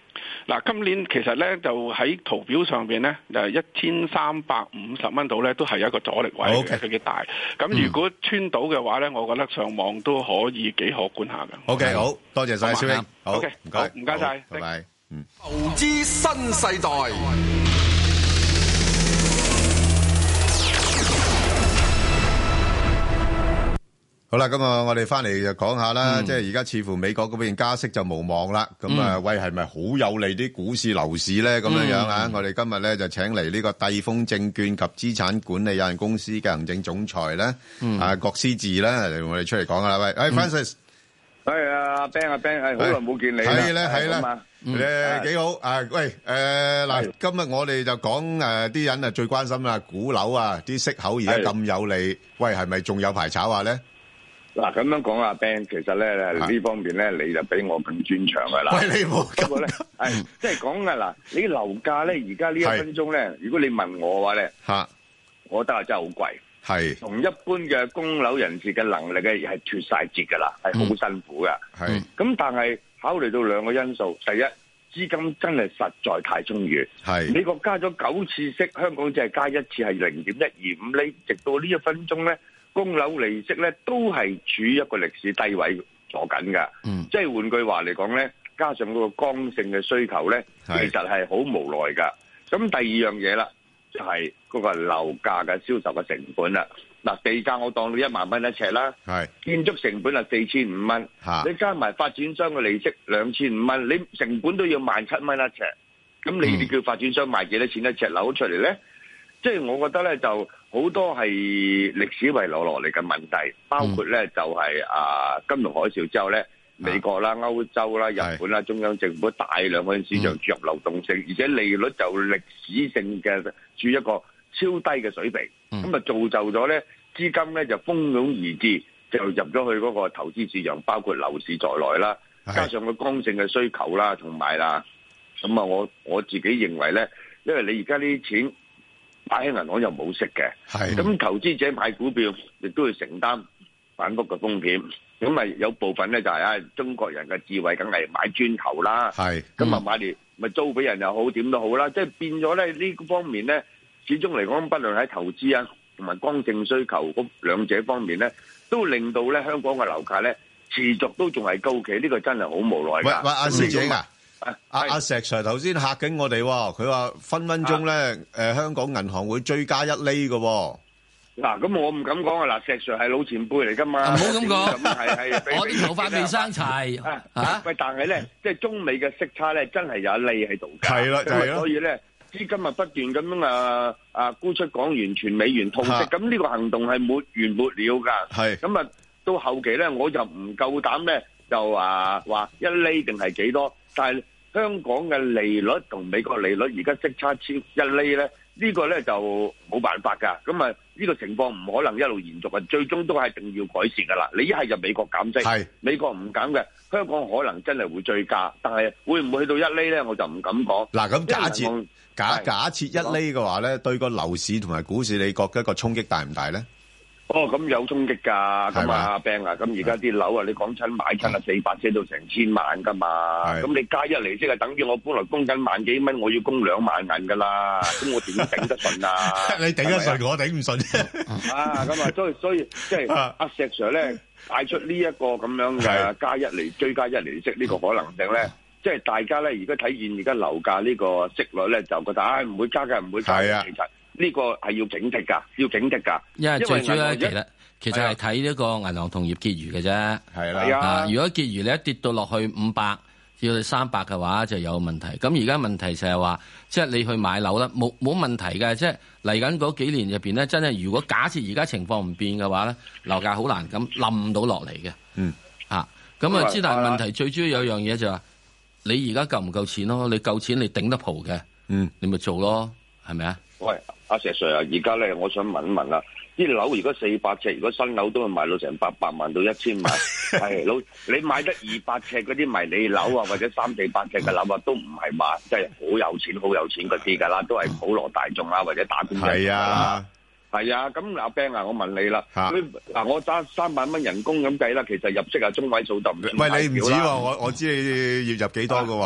嗱，今年其實咧就喺圖表上邊咧，就係一千三百五十蚊度咧，都係一個阻力位嘅，佢幾大。咁如果穿到嘅話咧，我覺得上網都可以幾可觀下嘅。 O K，好多謝晒，蕭英。好， 唔該，唔該晒， 拜拜。嗯， 投資新世代。 好啦，咁啊，我哋翻嚟就講下啦，即係而家似乎美國嗰邊加息就無望啦。咁啊，喂，係咪好有利啲股市樓市咧？咁樣樣啊，我哋今日咧就請嚟呢個帝豐證券及資產管理有限公司嘅行政總裁咧，啊郭思治咧，嚟我哋出嚟講噶啦。喂，誒 Francis， 係啊，阿 Ben 阿 Ben，係好耐冇見你啦。 係咧，係啦，誒幾好啊！喂，誒嗱，今日我哋就講誒啲人啊最關心啦，股樓啊，啲息口而家咁有利，喂，係咪仲有排炒下咧？ 嗱，咁樣講啊 Ben，其實咧呢方面咧你就比我更專長噶啦。 喂，你冇不過咧，係即係講噶嗱，你樓價咧而家呢一分鐘咧，如果你問我嘅話咧，吓，我覺得係真係好貴，係同一般嘅供樓人士嘅能力嘅係脫晒節噶啦，係好辛苦噶。係咁，但係考慮到兩個因素，第一，資金真係實在太充裕。係美國加咗九次息，香港只係加一次，係零點一二五厘，直到呢一分鐘咧。供樓利息咧都係處於一個歷史低位坐緊㗎，嗯、即係換句話嚟講咧，加上嗰個剛性嘅需求咧，其實係好無奈㗎。咁第二樣嘢啦，就係、是、嗰個樓價嘅銷售嘅成本啦。嗱，地價我當到一萬蚊一尺啦，建築成本係四千五蚊，你加埋發展商嘅利息兩千五蚊，你成本都要萬七蚊一尺。咁你哋叫發展商賣幾多錢一尺樓出嚟咧？即係我覺得咧，就好多係歷史遺留落嚟嘅問題，包括咧就係、是、啊金融海嘯之後咧，美國啦、歐洲啦、日本啦，中央政府大量向市場注入流動性，而且利率就歷史性嘅處一個超低嘅水平，咁啊造就咗咧資金咧就蜂擁而至，就入咗去嗰個投資市場，包括樓市在內啦，加上個剛性嘅需求啦，同埋啦，咁啊我我自己認為咧，因為你而家呢啲錢擺喺銀行又冇息嘅，咁投資者買股票亦都要承擔反覆嘅風險，咁咪有部分咧就係、是、啊中國人嘅智慧，梗係買磚頭啦，咁啊、嗯、買嚟咪租俾人又好，點都好啦，即係變咗咧呢方面咧，始終嚟講，不論喺投資啊同埋剛性需求嗰兩者方面咧，都令到咧香港嘅樓價咧持續都仲係高企，呢、這個真係好無奈㗎。喂， 喂，阿師姐啊！阿阿、啊、石 Sir 頭先嚇緊我哋，佢話分分鐘咧，誒、啊呃、香港銀行會追加一厘嘅。 嗱，咁我唔敢講啊！嗱，石 Sir 係老前輩嚟噶嘛， 唔好咁講。 係係， 我啲頭髮未生齊啊！啊喂，但係咧，即係中美嘅息差咧，真係有一厘喺度㗎。係啦，就係咯。所以咧，資金啊不斷咁樣啊啊沽出港元，全美元套息，咁呢個行動係沒完沒了㗎。係咁啊，到後期咧，我就唔夠膽咧，就話話一厘定係幾多？但係香港嘅利率同美國利率而家息差超一厘咧，呢個咧就冇辦法㗎。咁啊，呢個情況唔可能一路延續啊，最終都係一定要改善㗎啦。你一係就美國減息，美國唔減嘅，香港可能真係會追加，但係會唔會去到一厘咧，我就唔敢講。嗱，咁假設假假設一厘嘅話咧，對個樓市同埋股市，你覺得個衝擊大唔大咧？哦，咁有衝擊㗎，咁啊，Ben啊，咁而家啲樓啊，你講親買親啊，四百車到成千萬㗎嘛，咁你加一厘息啊，等於我本來供緊萬幾蚊，我要供兩萬銀㗎啦，咁我點頂得順啊？你頂得順，我頂唔順啊！咁啊，所以所以即係阿石 Sir 咧帶出呢一個咁樣嘅加一厘追加一厘息呢個可能性咧，即係大家咧而家睇見而家樓價呢個息率咧，就覺得啊唔會加嘅，唔會加嘅，其實。呢個係要警惕㗎，要警惕㗎。因為最主要咧，其實其實係睇呢個銀行同業結餘嘅啫。係啦，啊，如果結餘你一跌到落去五百至到三百嘅話，就有問題。咁而家問題就係話，即係你去買樓啦，冇冇問題嘅。即係嚟緊嗰幾年入邊咧，真係如果假設而家情況唔變嘅話咧，樓價好難咁冧到落嚟嘅。嗯，啊，咁啊，之但係問題最主要有樣嘢就係話，你而家夠唔夠錢咯？你夠錢你頂得蒲嘅，嗯，你咪做咯，係咪啊？喂，阿石 Sir 啊，而家咧，我想問一問啦，啲樓如果四百尺，如果新樓都係賣到成八百萬到一千萬，係老你買得二百尺嗰啲迷你樓啊，或者三四百尺嘅樓啊，都唔係話即係好有錢、好有錢嗰啲㗎啦，都係普羅大眾啊，或者打工仔係啊，係啊，咁阿 Ben 啊，我問你啦，嗱，我揸三萬蚊人工咁計啦，其實入息係中位數得唔得？喂，你唔止喎，我我知你要入幾多㗎喎。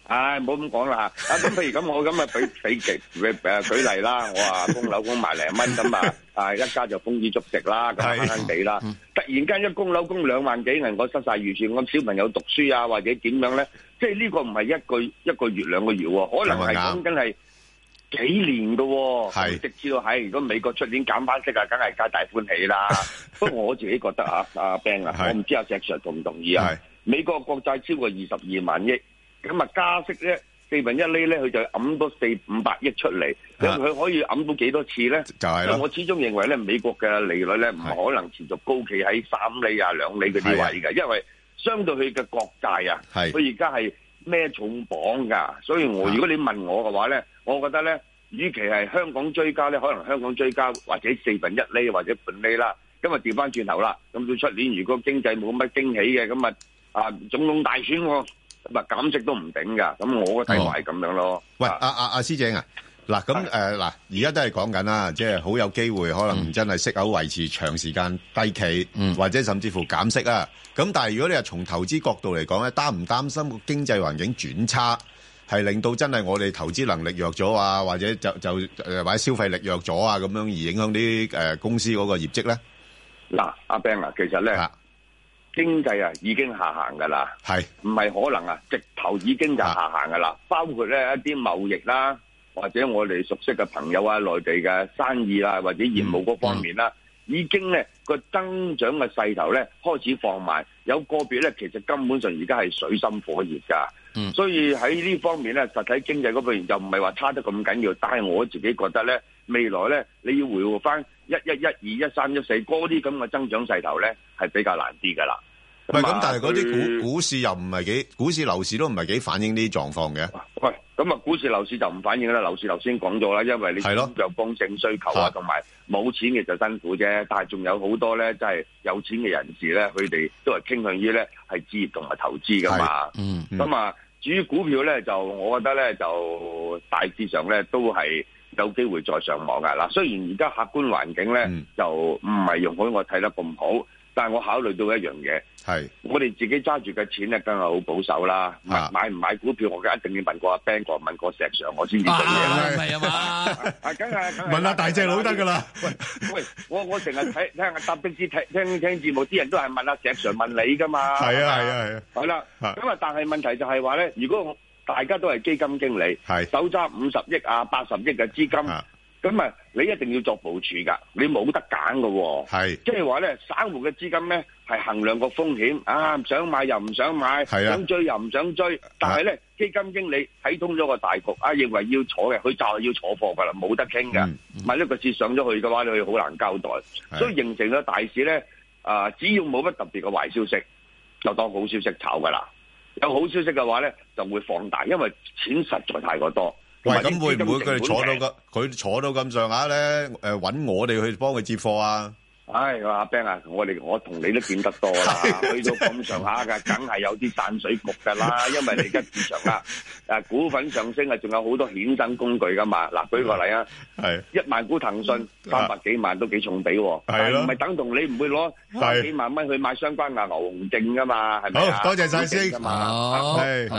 唉，唔好咁講啦嚇！啊咁，譬如咁，我咁啊，俾俾舉誒舉例啦，我話供樓供萬零蚊咁啊，啊一家就豐衣足食啦，咁慳慳地啦。突然間一供樓供兩萬幾銀，我失晒預算，咁小朋友讀書啊，或者點樣咧？即係呢個唔係一個一個月兩個月喎，可能係講緊係幾年㗎喎。係直至到係，如果美國出年減翻息啊，梗係皆大歡喜啦。不過我自己覺得啊，阿 Ben 啊，我唔知阿石 Sir 同唔同意啊？美國國債超過二十二萬億。咁啊加息咧四分一厘咧，佢就揞多四五百億出嚟，咁佢可以揞到幾多次咧？就係啦。我始終認為咧，美國嘅利率咧唔可能持續高企喺三厘啊兩厘嗰啲位嘅，因為相對佢嘅國債啊，佢而家係孭重磅㗎，所以我如果你問我嘅話咧，我覺得咧，與其係香港追加咧，可能香港追加或者四分一厘或者半厘啦，咁啊調翻轉頭啦，咁到出年如果經濟冇乜驚喜嘅，咁啊啊總統大選喎。咁啊減息都唔頂噶，咁我嘅睇法係咁樣咯。 哦、喂，阿阿阿師姐啊，嗱咁誒嗱，而家都係講緊啦，即係好有機會可能真係息口維持長時間低企，嗯、或者甚至乎減息啊。咁但係如果你係從投資角度嚟講咧，擔唔擔心個經濟環境轉差，係令到真係我哋投資能力弱咗啊，或者就就誒或者消費力弱咗啊，咁樣而影響啲誒公司嗰個業績咧？ 嗱，阿 Ben 啊，其實咧。經濟啊已經下行㗎啦，係唔係可能啊？直頭已經就下行㗎啦，包括咧一啲貿易啦，或者我哋熟悉嘅朋友啊、內地嘅生意啊，或者業務嗰方面啦，嗯、已經咧個增長嘅勢頭咧開始放慢，有個別咧其實根本上而家係水深火熱㗎，嗯、所以喺呢方面咧實體經濟嗰方面就唔係話差得咁緊要，但係我自己覺得咧未來咧你要回復翻一一一二一三一四嗰啲咁嘅增長勢頭咧係比較難啲㗎啦。 唔係咁，但係嗰啲股股市又唔係幾，股市樓市都唔係幾反映呢啲狀況嘅。 喂，咁啊，股市樓市就唔反映啦。樓市頭先講咗啦，因為你有剛性需求啊，同埋冇錢嘅就辛苦啫。但係仲有好多咧，即係有錢嘅人士咧，佢哋都係傾向於咧係置業同埋投資噶嘛。嗯。咁啊，至於股票咧，就我覺得咧，就大致上咧都係有機會再上網噶。嗱，雖然而家客觀環境咧、嗯、就唔係容許我睇得咁好。但係我考慮到一樣嘢，係我哋自己揸住嘅錢咧，梗係好保守啦。買買唔買股票，我梗一定要問過阿 Ben 哥，問過石 Sir，我先至做嘢啦。係啊嘛，啊梗係問下大隻佬得㗎啦。 喂喂，我我成日睇聽下搭的士聽聽聽節目，啲人都係問阿石 Sir 問你㗎嘛。係啊係啊係啊。係啦，咁啊，但係問題就係話咧，如果大家都係基金經理，係手揸五十億啊、八十億嘅資金。咁啊，你一定要作部署㗎，你冇得揀㗎喎。係，即係話咧，散戶嘅資金咧係衡量個風險，啊想買又唔想買，想追又唔想追。但係咧，基金經理睇通咗個大局，啊認為要坐嘅，佢就係要坐貨㗎啦，冇得傾㗎。萬一個市上咗去嘅話，你好難交代。所以形成咗大市咧，啊只要冇乜特別嘅壞消息，就當好消息炒㗎啦。有好消息嘅話咧，就會放大，因為錢實在太過多。 喂，咁會唔會佢哋坐到咁佢坐到咁上下咧？誒，揾我哋去幫佢接貨啊！ 唉，阿 Ben 啊，我哋我同你都見得多啦，去到咁上下嘅，梗係有啲散水局噶啦。因為你而家市場啦，誒股份上升啊，仲有好多衍生工具噶嘛。嗱，舉個例啊，係一萬股騰訊三百幾萬都幾重比喎，係咯，唔係等同你唔會攞三幾萬蚊去買相關嘅牛熊證噶嘛，係咪啊？好多謝晒先，好。